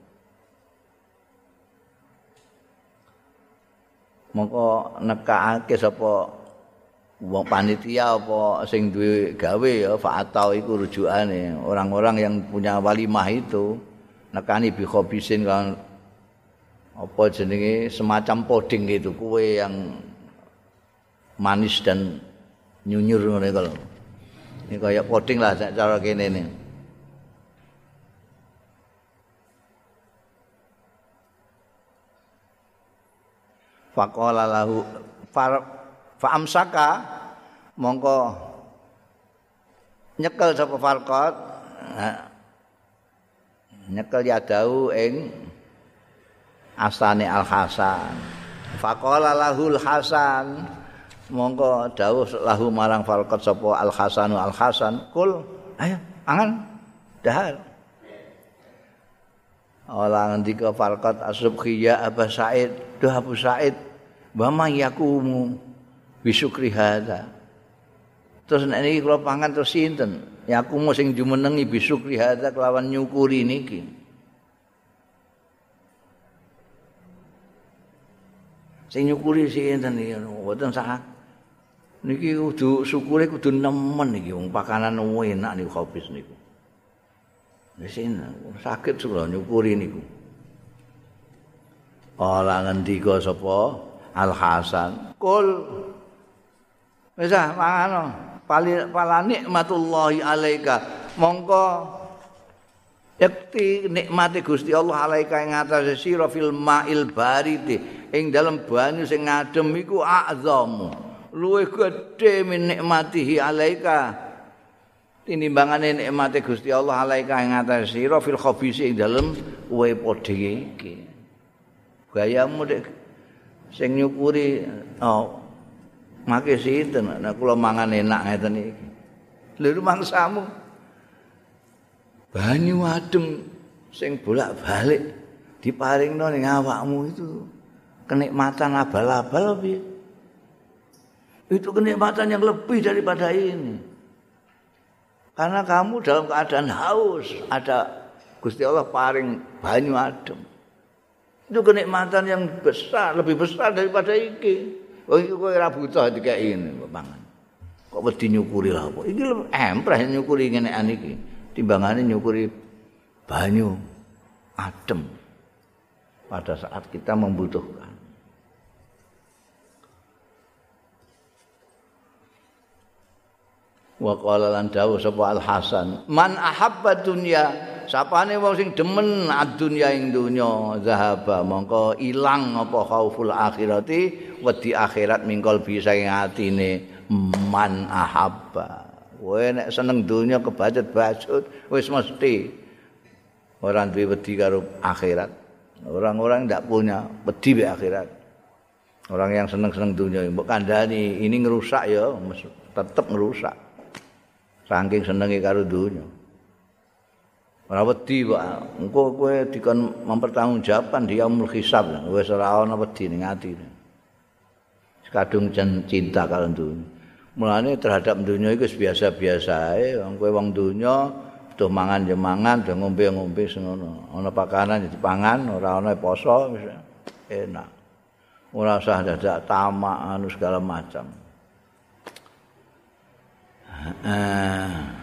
mongko nekake sapa wong panitia apa sing duwe gawe ya fa'atau iku rujukane orang-orang yang punya walimah itu nekani bi khobisin kan apa jenenge semacam puding gitu kue yang manis dan nyunyur ngene kalau ini kayak puding lah cara kene ini faqala lahu far fa amsaka mongko nyekel sapa Farqat nyekel yadau ing asane Al Hasan faqala lahul Hasan mongko dawuh lahu marang Farqat sapa Al Hasanu Al Hasan kul ayo angan dahar ola ngendika Farqat asubhi ya Aba Said duh Abu Said wa may yakumu bisyukri hadza. Terus nek niki kula pangan terus sinten? Ya aku mau sing jumenengi bisyukri hadza kelawan nyukuri niki. Sing nyukuri sinten iki mboten sak. Niki kudu syukure kudu nemen iki wong pakanan enak niku khobis niku. Wis sakit kula nyukuri niku. Ora ngendika sapa Al Hasan. Kul wis ah mangan pala nikmatullahi alaika mongko yakti nikmate Gusti Allah alaika ing atase sira fil ma'il baridi ing dalem banyu sing ngadem iku azam luwih gedhe min nikmatihi alaika tinimbangane nikmate Gusti Allah alaika ing atase sira fil khabisi ing dalem kuwe podhe iki gayamu dek sing nyukuri oh make sinten nek kula mangan enak ngeten iki. Lha rumangsamu banyu adem sing bolak-balik diparingno ning awakmu itu kenikmatan abal-abal piye? Itu kenikmatan yang lebih daripada ini. Karena kamu dalam keadaan haus, ada Gusti Allah paring banyu adem. Itu kenikmatan yang besar, lebih besar daripada iki. Oh iki kowe ora butuh dikeki ngene pangan. Kok wedi nyukuri lha apa? Iki empreh nyukuri ngenekan iki. Timbangane nyukuri banyu adem pada saat kita membutuhkan. Wa qala lan dawuh sapa Al Hasan, man ahabba dunya sapane wong sing demen adunya ing donya zahaba mongko ilang apa khauful akhirati wedi akhirat mingkol bisa ing atine man ahabba. Kowe nek seneng donya kebacut-bacut wis mesti ora duwe wedi karo akhirat. Orang-orang ndak punya wedi be akhirat. Orang yang seneng-seneng dunia mbok kandhani ini ngerusak ya tetep ngerusak. Saking senenge karo dunia. Ora wedi kok. Engko kowe dikon mempertanggungjawabkan di yaumul hisab. Wis ora ana wedi ning atine. Kadung cinta karo dunia. Mulane terhadap dunia iku biasa-biasa ae. Wong kowe wong dunia butuh mangan ya mangan, butuh ngombe ya ngombe ngono. Ana pakanan ya dipangan, ora ana poso wis enak. Ora usah dadak tamak anu segala macam. Heeh.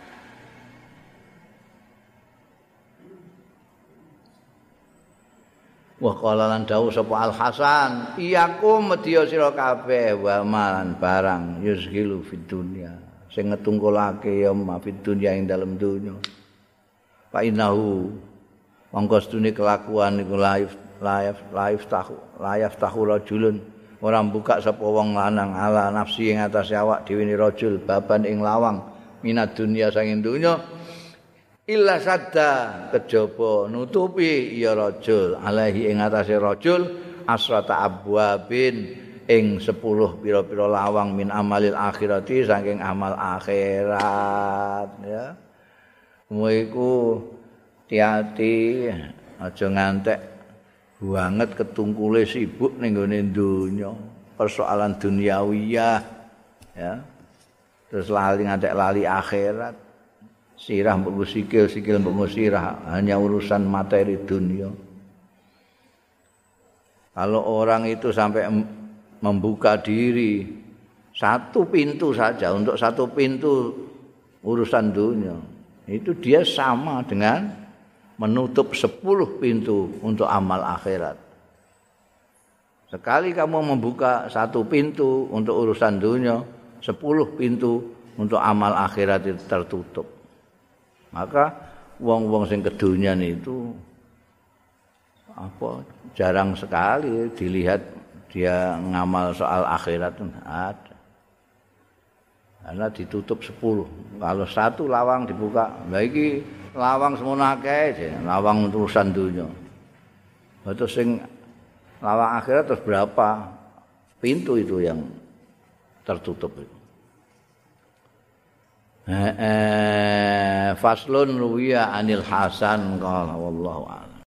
Wa qala lan dawuh sapa Al Hasan, iyakum medya sira kabeh wa man barang yusgilu fid dunya sing ngetungkulake ya fid dunya ing dalem donya. Fa innahu mongko stune kelakuan iku laif laif laif tahu laif tahu rajulun ora buka sapa wong lanang ala nafsi ing atase awak dhewe ni rajul baban ing lawang minat dunya saking donya illa sadda kejaba nutupi ya rajul alaihi ing atase rajul asrata abwabin ing sepuluh pira-pira lawang min amalil akhirati saking amal akhirat ya. Kowe iku hati-hati aja ngantek banget ketungkule sibuk ning gone donya, persoalan duniawiyah ya. Terus lali ngantek lali akhirat. Sirah mbok sikil, sikil mbok sirah, hanya urusan materi dunia. Kalau orang itu sampai membuka diri satu pintu saja untuk satu pintu urusan dunia, itu dia sama dengan menutup sepuluh pintu untuk amal akhirat. Sekali kamu membuka satu pintu untuk urusan dunia, sepuluh pintu untuk amal akhirat itu tertutup. Maka wong-wong sing kedunyan itu apa jarang sekali dilihat dia ngamal soal akhirat ada. Karena ditutup sepuluh. Kalau satu lawang dibuka, lagi lawang semono akeh aja, lawang urusan dunia. Terus sing lawang akhirat terus berapa pintu itu yang tertutup itu. Eh, faslun ruwiya anil Hasan qala wallahu a'lam.